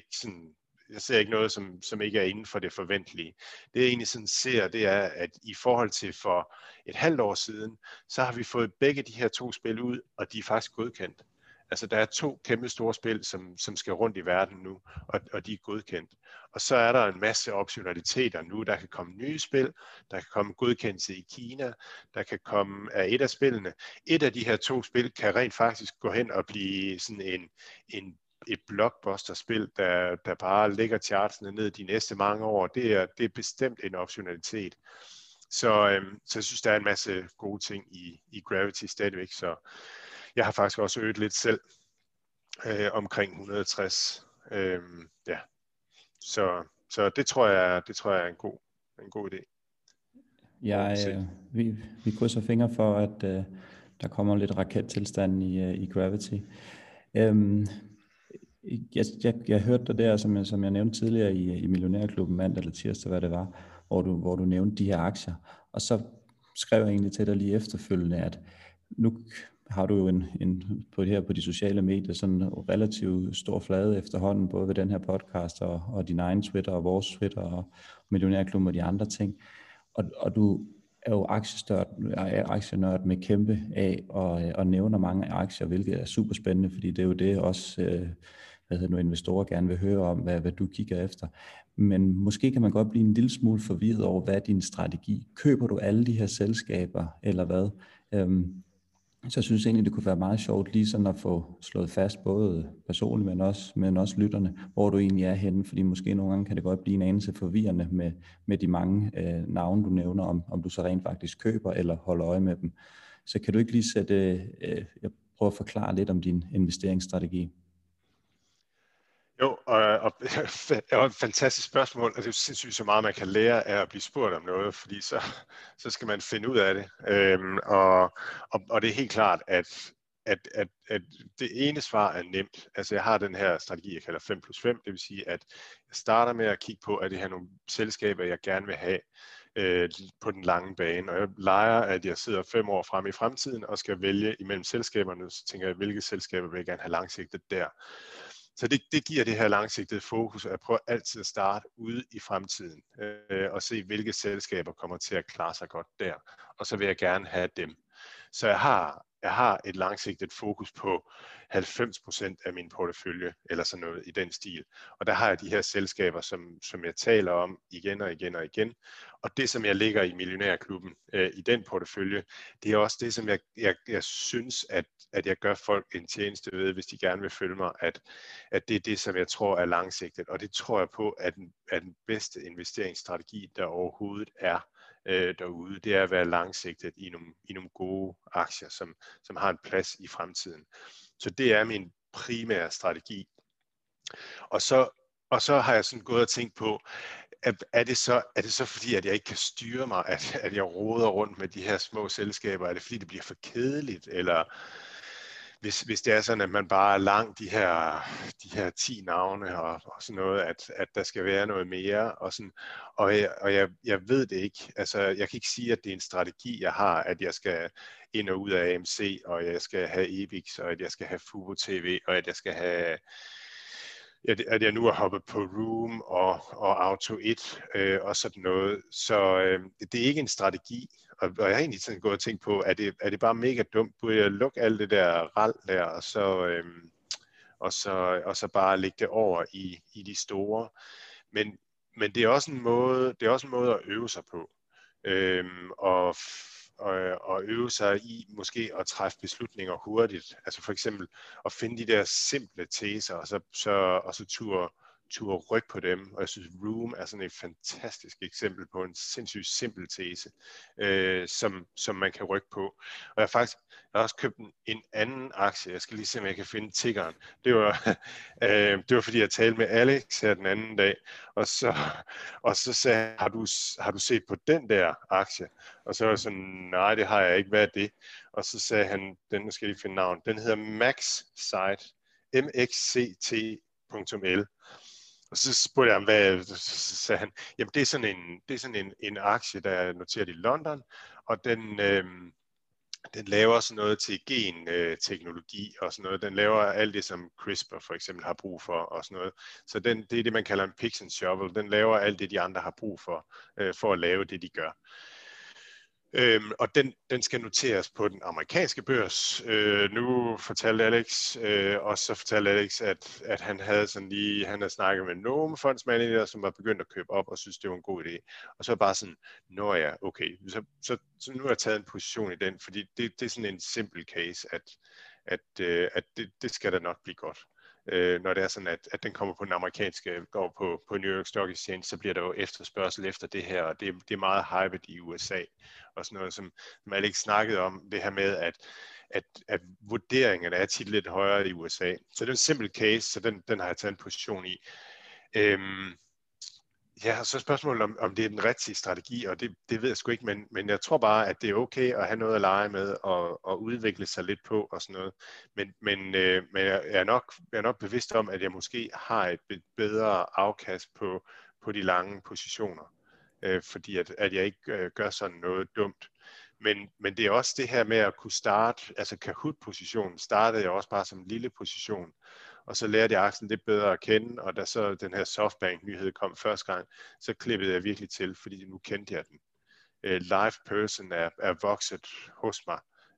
som ikke er inden for det forventelige. Det jeg egentlig sådan ser, det er, at i forhold til for et halvt år siden, så har vi fået begge de her 2 spil ud, og de er faktisk godkendt. Altså der er 2 kæmpe store spil, som skal rundt i verden nu, og de er godkendt. Og så er der en masse optionaliteter nu. Der kan komme nye spil, der kan komme godkendelse i Kina, der kan komme af et af spillene. Et af de her 2 spil kan rent faktisk gå hen og blive sådan et blockbuster-spil, der bare lægger chartsene ned de næste mange år. Det er bestemt en optionalitet. Så jeg synes, der er en masse gode ting i Gravity stadigvæk, så jeg har faktisk også øget lidt selv omkring 160. Ja. Så det tror jeg er en god idé. Vi krydser fingre for, at der kommer lidt rakettilstand i Gravity. Jeg hørte dig der, som jeg nævnte tidligere i Millionærklubben mandag eller tirsdag, hvad det var, hvor du nævnte de her aktier. Og så skrev jeg egentlig til dig lige efterfølgende, at nu har du jo på de sociale medier sådan en relativt stor flade efterhånden, både ved den her podcast og din egen Twitter og vores Twitter og Millionærklubben og de andre ting. Og du er jo aktienørd med kæmpe af og nævner mange aktier, hvilket er super spændende, fordi det er jo det også investorer gerne vil høre om, hvad du kigger efter. Men måske kan man godt blive en lille smule forvirret over, hvad er din strategi? Køber du alle de her selskaber, eller hvad? Så jeg synes egentlig, det kunne være meget sjovt lige sådan at få slået fast, både personligt, men også lytterne, hvor du egentlig er henne, fordi måske nogle gange kan det godt blive en anelse forvirrende med de mange navne, du nævner, om du så rent faktisk køber eller holder øje med dem. Så kan du ikke lige jeg prøver at forklare lidt om din investeringsstrategi? Jo, og det er et fantastisk spørgsmål, og det er jo sindssygt så meget, man kan lære af at blive spurgt om noget, fordi så skal man finde ud af det. Og det er helt klart, at det ene svar er nemt. Altså jeg har den her strategi, jeg kalder 5+5, det vil sige, at jeg starter med at kigge på, at det her nogle selskaber, jeg gerne vil have på den lange bane. Og jeg leger, at jeg sidder 5 år frem i fremtiden og skal vælge imellem selskaberne, så tænker jeg, hvilke selskaber vil jeg gerne have langsigtet der. Så det giver det her langsigtede fokus, at jeg prøver altid at starte ude i fremtiden og se, hvilke selskaber kommer til at klare sig godt der. Og så vil jeg gerne have dem. Så jeg har et langsigtet fokus på 90% af min portefølje, eller sådan noget i den stil. Og der har jeg de her selskaber, som jeg taler om igen og igen og igen. Og det, som jeg ligger i Millionærklubben i den portefølje, det er også det, som jeg synes, at jeg gør folk en tjeneste ved, hvis de gerne vil følge mig, at det er det, som jeg tror er langsigtet. Og det tror jeg på, at den bedste investeringsstrategi, der overhovedet er derude, det er at være langsigtet i nogle gode aktier, som har en plads i fremtiden. Så det er min primære strategi. Og så har jeg sådan gået og tænkt på, er det så fordi, at jeg ikke kan styre mig, at jeg roder rundt med de her små selskaber? Er det fordi, det bliver for kedeligt? Eller hvis det er sådan, at man bare er lang de her 10 navne og sådan noget, at der skal være noget mere. Og jeg ved det ikke. Altså, jeg kan ikke sige, at det er en strategi, jeg har, at jeg skal ind og ud af AMC, og jeg skal have EBIX, og at jeg skal have Fubo TV, og at jeg skal have at jeg nu har hoppet på Room og Auto 1 og sådan noget. Så det er ikke en strategi, og jeg har egentlig sådan gået og tænkt på, er det bare mega dumt? Burde jeg lukke alt det der rald der, og så bare lægge det over i de store? Men det er også en måde at øve sig på. Og øve sig i måske at træffe beslutninger hurtigt. Altså for eksempel at finde de der simple teser, og så turde rykke på dem. Og jeg synes, Room er sådan et fantastisk eksempel på en sindssygt simpel tese, som man kan rykke på. Og jeg har også købt en anden aktie. Jeg skal lige se, om jeg kan finde tiggeren. Det var fordi, jeg talte med Alex her den anden dag, og så sagde han, har du set på den der aktie? Og så var jeg sådan, nej, det har jeg ikke. Hvad er det? Og så sagde han, nu skal jeg lige finde navn, den hedder MaxCT, mxct.l. Og så spurgte jeg ham, så sagde han, jamen det er sådan en aktie, der er noteret i London, og Den laver sådan noget til gen-teknologi og sådan noget. Den laver alt det, som CRISPR for eksempel har brug for og sådan noget. Så det er det, man kalder en picks and shovel. Den laver alt det, de andre har brug for at lave det, de gør. Og den skal noteres på den amerikanske børs. Nu fortalte Alex, og så fortalte Alex, at han havde snakket med nogle fondsmanager, som var begyndt at købe op og synes, det var en god idé. Og så bare sådan, nå ja, okay, så nu har jeg taget en position i den, fordi det er sådan en simpel case, at det skal da nok blive godt. Når det er sådan, at den kommer på den amerikanske, går på New York Stock Exchange, så bliver der jo efterspørgsel efter det her, og det er meget hyped i USA, og sådan noget, som Alex snakkede om, det her med, at vurderingerne er tit lidt højere i USA. Så det er en simpel case, så den har jeg taget en position i. Ja, så spørgsmålet om det er den rigtige strategi, og det ved jeg sgu ikke, men jeg tror bare, at det er okay at have noget at lege med og udvikle sig lidt på og sådan noget. Men jeg er nok bevidst om, at jeg måske har et bedre afkast på de lange positioner, fordi at jeg ikke gør sådan noget dumt. Men det er også det her med at kunne starte, altså Kahoot-positionen startede jeg også bare som en lille position, og så lærte jeg aktien lidt bedre at kende, og da så den her Softbank-nyhed kom første gang, så klippede jeg virkelig til, fordi nu kendte jeg den. LivePerson er vokset hos mig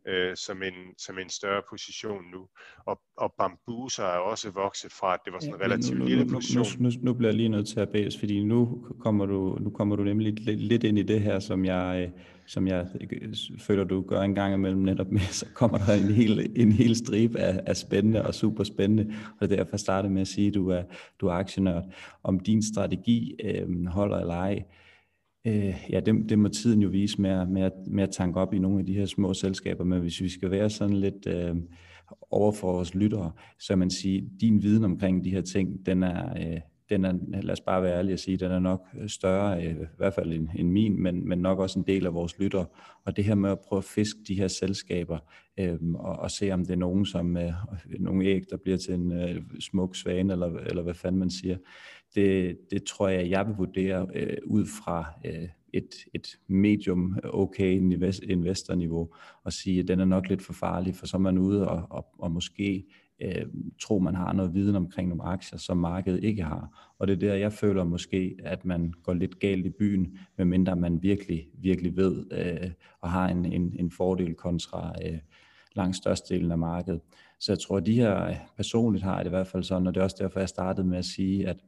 som en større position nu, og Bambuser er også vokset fra, at det var sådan en relativt lille position. Nu bliver jeg lige nødt til at bæse, fordi nu kommer du nemlig lidt ind i det her, som jeg føler, du gør en gang imellem netop med, så kommer der en hel stribe af spændende og super spændende, og det er derfor jeg startede med at sige, at du er aktionør. Om din strategi holder eller ej, ja, det må tiden jo vise med at tanke op i nogle af de her små selskaber, men hvis vi skal være sådan lidt over for vores lyttere, så man sige, din viden omkring de her ting, den er, lad os bare være ærlige og sige, den er nok større, i hvert fald end min, men nok også en del af vores lyttere. Og det her med at prøve at fiske de her selskaber, og se om det er nogen, som nogle æg, der bliver til en smuk svane, eller hvad fanden man siger, det tror jeg vil vurdere ud fra et medium okay investorniveau, og sige, at den er nok lidt for farlig, for så er man ude og måske tror, man har noget viden omkring nogle aktier, som markedet ikke har. Og det er der, jeg føler måske, at man går lidt galt i byen, medmindre man virkelig, virkelig ved og har en fordel kontra langt størstedelen af markedet. Så jeg tror, at de her personligt har det i hvert fald sådan, og det er også derfor, jeg startede med at sige, at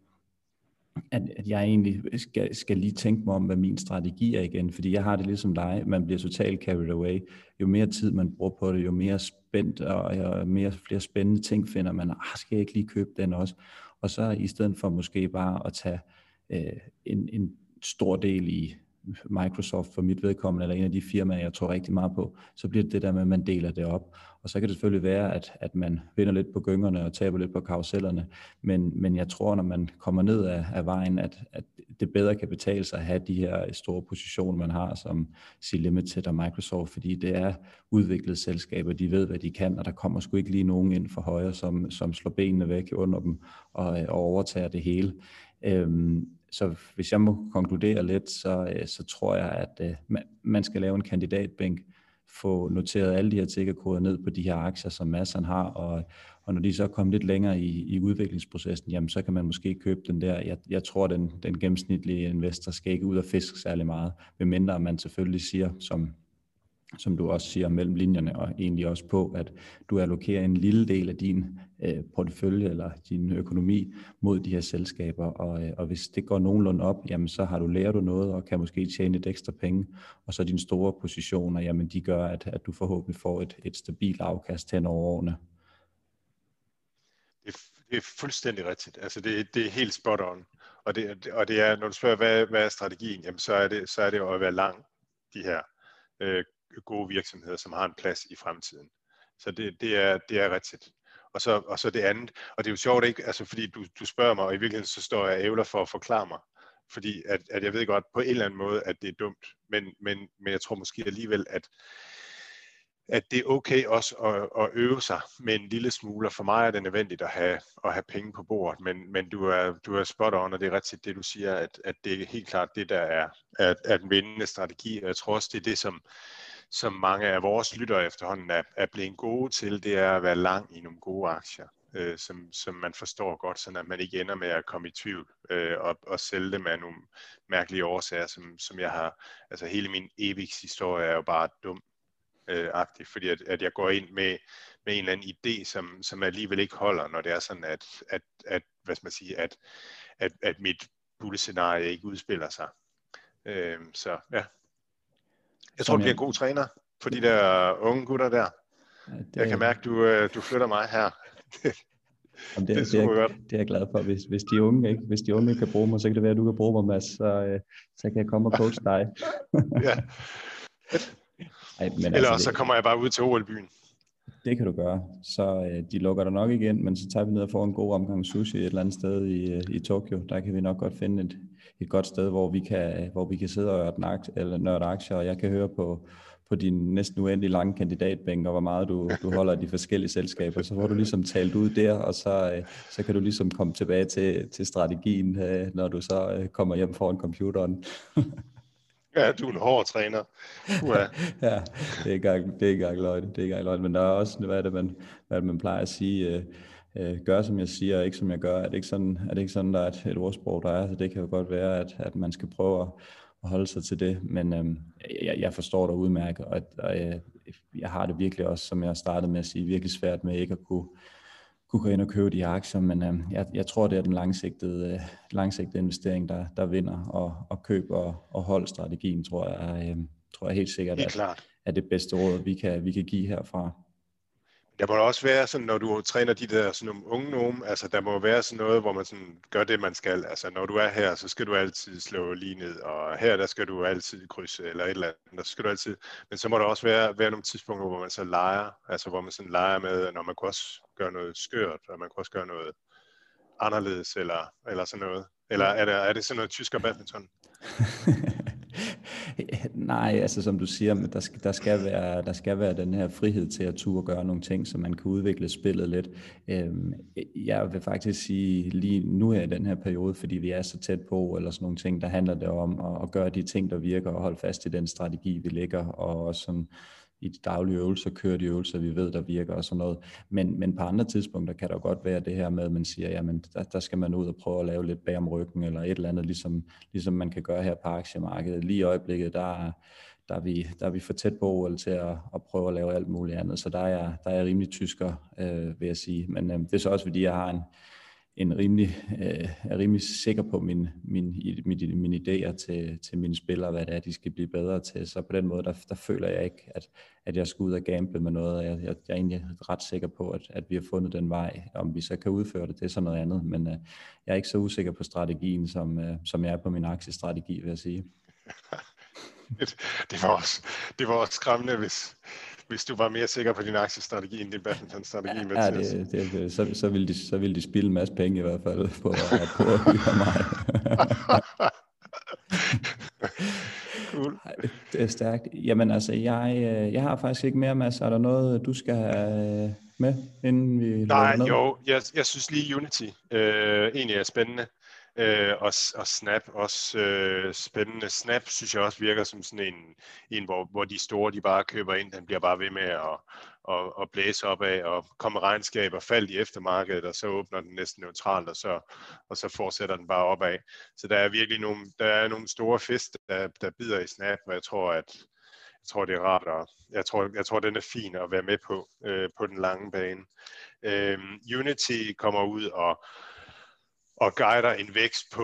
jeg egentlig skal lige tænke mig om, hvad min strategi er igen, fordi jeg har det ligesom dig, man bliver totalt carried away. Jo mere tid man bruger på det, jo mere spændt og flere spændende ting finder man, skal jeg ikke lige købe den også? Og så i stedet for måske bare at tage en stor del i Microsoft for mit vedkommende, eller en af de firmaer, jeg tror rigtig meget på, så bliver det der med, at man deler det op. Og så kan det selvfølgelig være, at man vinder lidt på gyngerne og taber lidt på karusellerne, men jeg tror, når man kommer ned af vejen, at det bedre kan betale sig at have de her store positioner, man har, som C-Limited og Microsoft, fordi det er udviklede selskaber, de ved, hvad de kan, og der kommer sgu ikke lige nogen ind for højre, som slår benene væk under dem og overtager det hele. Så hvis jeg må konkludere lidt, så tror jeg, at man skal lave en kandidatbænk, få noteret alle de her tickerkoder ned på de her aktier, som masserne har, og når de så er kommet lidt længere i udviklingsprocessen, jamen så kan man måske købe den der. Jeg tror, den gennemsnitlige investor skal ikke ud og fiske særlig meget, medmindre man selvfølgelig siger, som du også siger mellem linjerne, og egentlig også på, at du allokerer en lille del af din portefølje eller din økonomi mod de her selskaber, og hvis det går nogenlunde op, jamen så har du lært noget, og kan måske tjene lidt ekstra penge, og så dine store positioner, jamen de gør, at du forhåbentlig får et stabilt afkast hen over årene. Det er fuldstændig rigtigt. Altså det er helt spot on. Og det er, når du spørger, hvad er strategien, jamen så er det jo at være lang de her gode virksomheder, som har en plads i fremtiden. Så det er rigtigt. Og så det andet, og det er jo sjovt ikke, altså fordi du spørger mig, og i virkeligheden så står jeg ævler for at forklare mig, fordi at jeg ved godt på en eller anden måde, at det er dumt, men jeg tror måske alligevel, at det er okay også at øve sig med en lille smule, og for mig er det nødvendigt at have penge på bordet, men du er spot on, og det er rigtigt det du siger, at det er helt klart det, der er den vindende strategi, og jeg tror også, det er det, som mange af vores lyttere efterhånden er blevet gode til, det er at være lang i nogle gode aktier, som man forstår godt, så at man ikke ender med at komme i tvivl og sælge dem af nogle mærkelige årsager, som jeg har. Altså hele min EVIX-historie er jo bare dum. Agtigt, fordi at jeg går ind med en eller anden idé, som alligevel ikke holder, når det er sådan, at hvad skal man sige, at mit bullescenarie ikke udspiller sig. Så ja. Jeg tror, du bliver en god træner for de der unge gutter der. Ja, jeg kan mærke, du flytter mig her. Det er super godt. Det er jeg glad for. Hvis de unge kan bruge mig, så kan det være, at du kan bruge mig, Mads. Så kan jeg komme og coache dig. Ja. Ej, men eller altså, så kommer jeg bare ud til OL-byen. Det kan du gøre. Så de lukker dig nok igen, men så tager vi ned og får en god omgang sushi et eller andet sted i Tokyo. Der kan vi nok godt finde et godt sted, hvor vi kan sidde og nørde aktier, og jeg kan høre på din næsten uendelig lange kandidatbænk, og hvor meget du holder af de forskellige selskaber. Så får du ligesom talt ud der, og så kan du ligesom komme tilbage til strategien, når du så kommer hjem foran computeren. Ja, du er en hård træner. Ja, det er ikke engang løgn. Men der er også, hvad man plejer at sige, gør som jeg siger, og ikke som jeg gør. Er det ikke sådan, der er et ordsprog, der er? Så det kan jo godt være, at man skal prøve at holde sig til det. Men jeg forstår dig udmærket, og jeg har det virkelig også, som jeg startede med at sige, virkelig svært med ikke at kunne gå ind og købe de aktier, men jeg tror, det er den langsigtede investering, der vinder, og køb og hold strategien, tror jeg helt sikkert, er det bedste råd, vi kan give herfra. Der må også være sådan, når du træner de der sådan nogle unge nogen, altså der må være sådan noget, hvor man sådan gør det, man skal. Altså når du er her, så skal du altid slå lige ned, og her der skal du altid krydse, eller et eller andet, der skal du altid. Men så må der også være nogle tidspunkter, hvor man så leger, altså hvor man sådan leger med, når man kan også gøre noget skørt, og man kan også gøre noget anderledes, eller sådan noget. Eller er det sådan noget tysker badminton? Nej, altså som du siger, men der skal være den her frihed til at turde gøre nogle ting, så man kan udvikle spillet lidt. Jeg vil faktisk sige, lige nu her i den her periode, fordi vi er så tæt på, eller sådan nogle ting, der handler det om at gøre de ting, der virker, og holde fast i den strategi, vi lægger, og også sådan i de daglige øvelser, køre de øvelser, vi ved, der virker og sådan noget. Men på andre tidspunkter kan der godt være det her med, at man siger, jamen der skal man ud og prøve at lave lidt bag om ryggen, eller et eller andet, ligesom man kan gøre her på aktiemarkedet. Lige i øjeblikket, der er vi for tæt på OL til at prøve at lave alt muligt andet, så der er jeg rimelig tysker, vil jeg sige. Men det er så også, fordi jeg har er rimelig sikker på mine idéer til mine spillere, hvad det er, de skal blive bedre til. Så på den måde, der føler jeg ikke, at jeg skal ud og gamble med noget. Jeg er egentlig ret sikker på, at vi har fundet den vej. Om vi så kan udføre det er så noget andet. Men jeg er ikke så usikker på strategien, som jeg er på min aktiestrategi, vil jeg sige. Det var også skræmmende, hvis du var mere sikker på din aktiestrategi end din badmintonstrategi. Ja, så ville de spilde en masse penge i hvert fald på at hyre mig. Cool. Det er stærkt. Jamen altså, jeg har faktisk ikke mere, Mads. Er der noget, du skal have med, inden vi lukker ned? Jo, jeg synes lige Unity egentlig er spændende. Og Snap også spændende. Snap synes jeg også virker som sådan en hvor de store, de bare køber ind, den bliver bare ved med at blæse op af og komme regnskaber, faldt i eftermarkedet, og så åbner den næsten neutralt, og så fortsætter den bare opad. Så der er virkelig nogle store fisk, der bider i Snap, og jeg tror, det er rart, og jeg tror, den er fin at være med på den lange bane. Unity kommer ud og guider en vækst på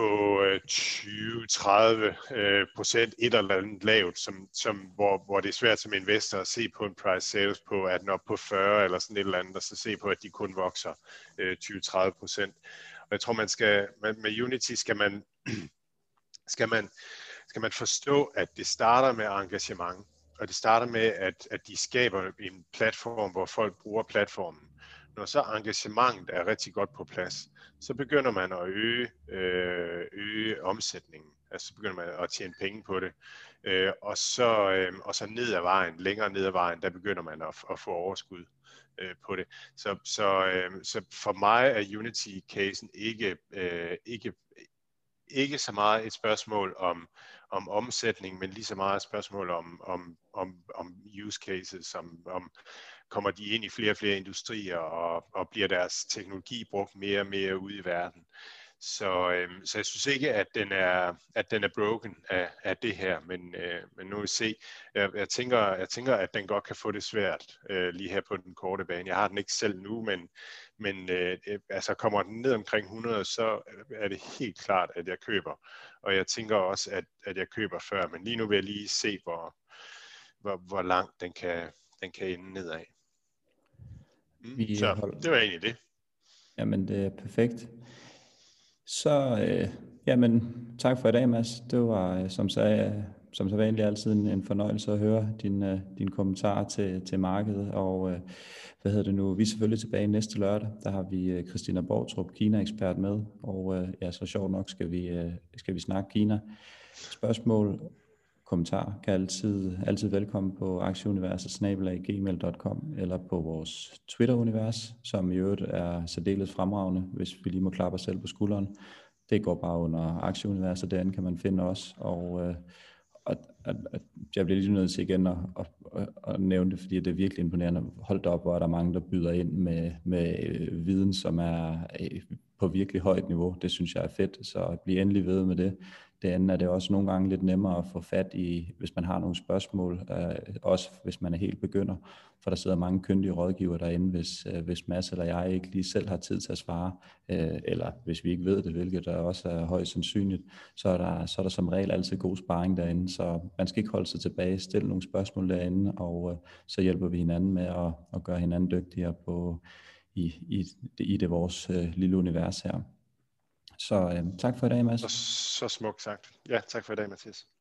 20-30% et eller andet lavt, hvor det er svært som investor at se på en price sales på, at den op på 40 eller sådan et eller andet, og så se på, at de kun vokser 20-30%. Og jeg tror, med Unity skal man forstå, at det starter med engagement, og det starter med, at de skaber en platform, hvor folk bruger platformen. Når så engagementet er rigtig godt på plads, så begynder man at øge omsætningen. Altså så begynder man at tjene penge på det. Og så ned ad vejen, længere ned ad vejen, der begynder man at få overskud på det. Så for mig er Unity-casen ikke så meget et spørgsmål om omsætning, men lige så meget spørgsmål om use cases, om kommer de ind i flere og flere industrier, og bliver deres teknologi brugt mere og mere ude i verden. Så jeg synes ikke, at den er broken af det her, men nu vil vi se. Jeg tænker, at den godt kan få det svært lige her på den korte bane. Jeg har den ikke selv nu, men altså kommer den ned omkring 100, så er det helt klart, at jeg køber. Og jeg tænker også, at jeg køber før, men lige nu vil jeg lige se, hvor langt den kan ende nedad. Så det var egentlig det. Jamen, det er perfekt. Så jamen, tak for i dag, Mads. Det var som så vanligt altid en fornøjelse at høre dine kommentarer til markedet. Og vi er selvfølgelig tilbage næste lørdag. Der har vi Christina Bortrup, Kina-ekspert med. Og så sjovt nok skal vi snakke Kina. Spørgsmål, kommentarer kan altid velkommen på aktieuniverset@gmail.com eller på vores Twitter-univers, som i øvrigt er særdeles fremragende, hvis vi lige må klappe os selv på skulderen. Det går bare under aktieuniverset, derinde kan man finde os, og jeg bliver lige nødt til igen at nævne det, fordi det er virkelig imponerende. Hold op, hvor er der mange, der byder ind med viden, som er på virkelig højt niveau. Det synes jeg er fedt, så bliv endelig ved med det. Det andet er det også nogle gange lidt nemmere at få fat i, hvis man har nogle spørgsmål, også hvis man er helt begynder, for der sidder mange kyndige rådgivere derinde, hvis Mads eller jeg ikke lige selv har tid til at svare, eller hvis vi ikke ved det, hvilket der også er højst sandsynligt, så er der som regel altid god sparring derinde, så man skal ikke holde sig tilbage, stille nogle spørgsmål derinde, og så hjælper vi hinanden med at gøre hinanden dygtigere i det vores lille univers her. Så tak for i dag, Mads. Så smukt sagt. Ja, tak for i dag, Mathias.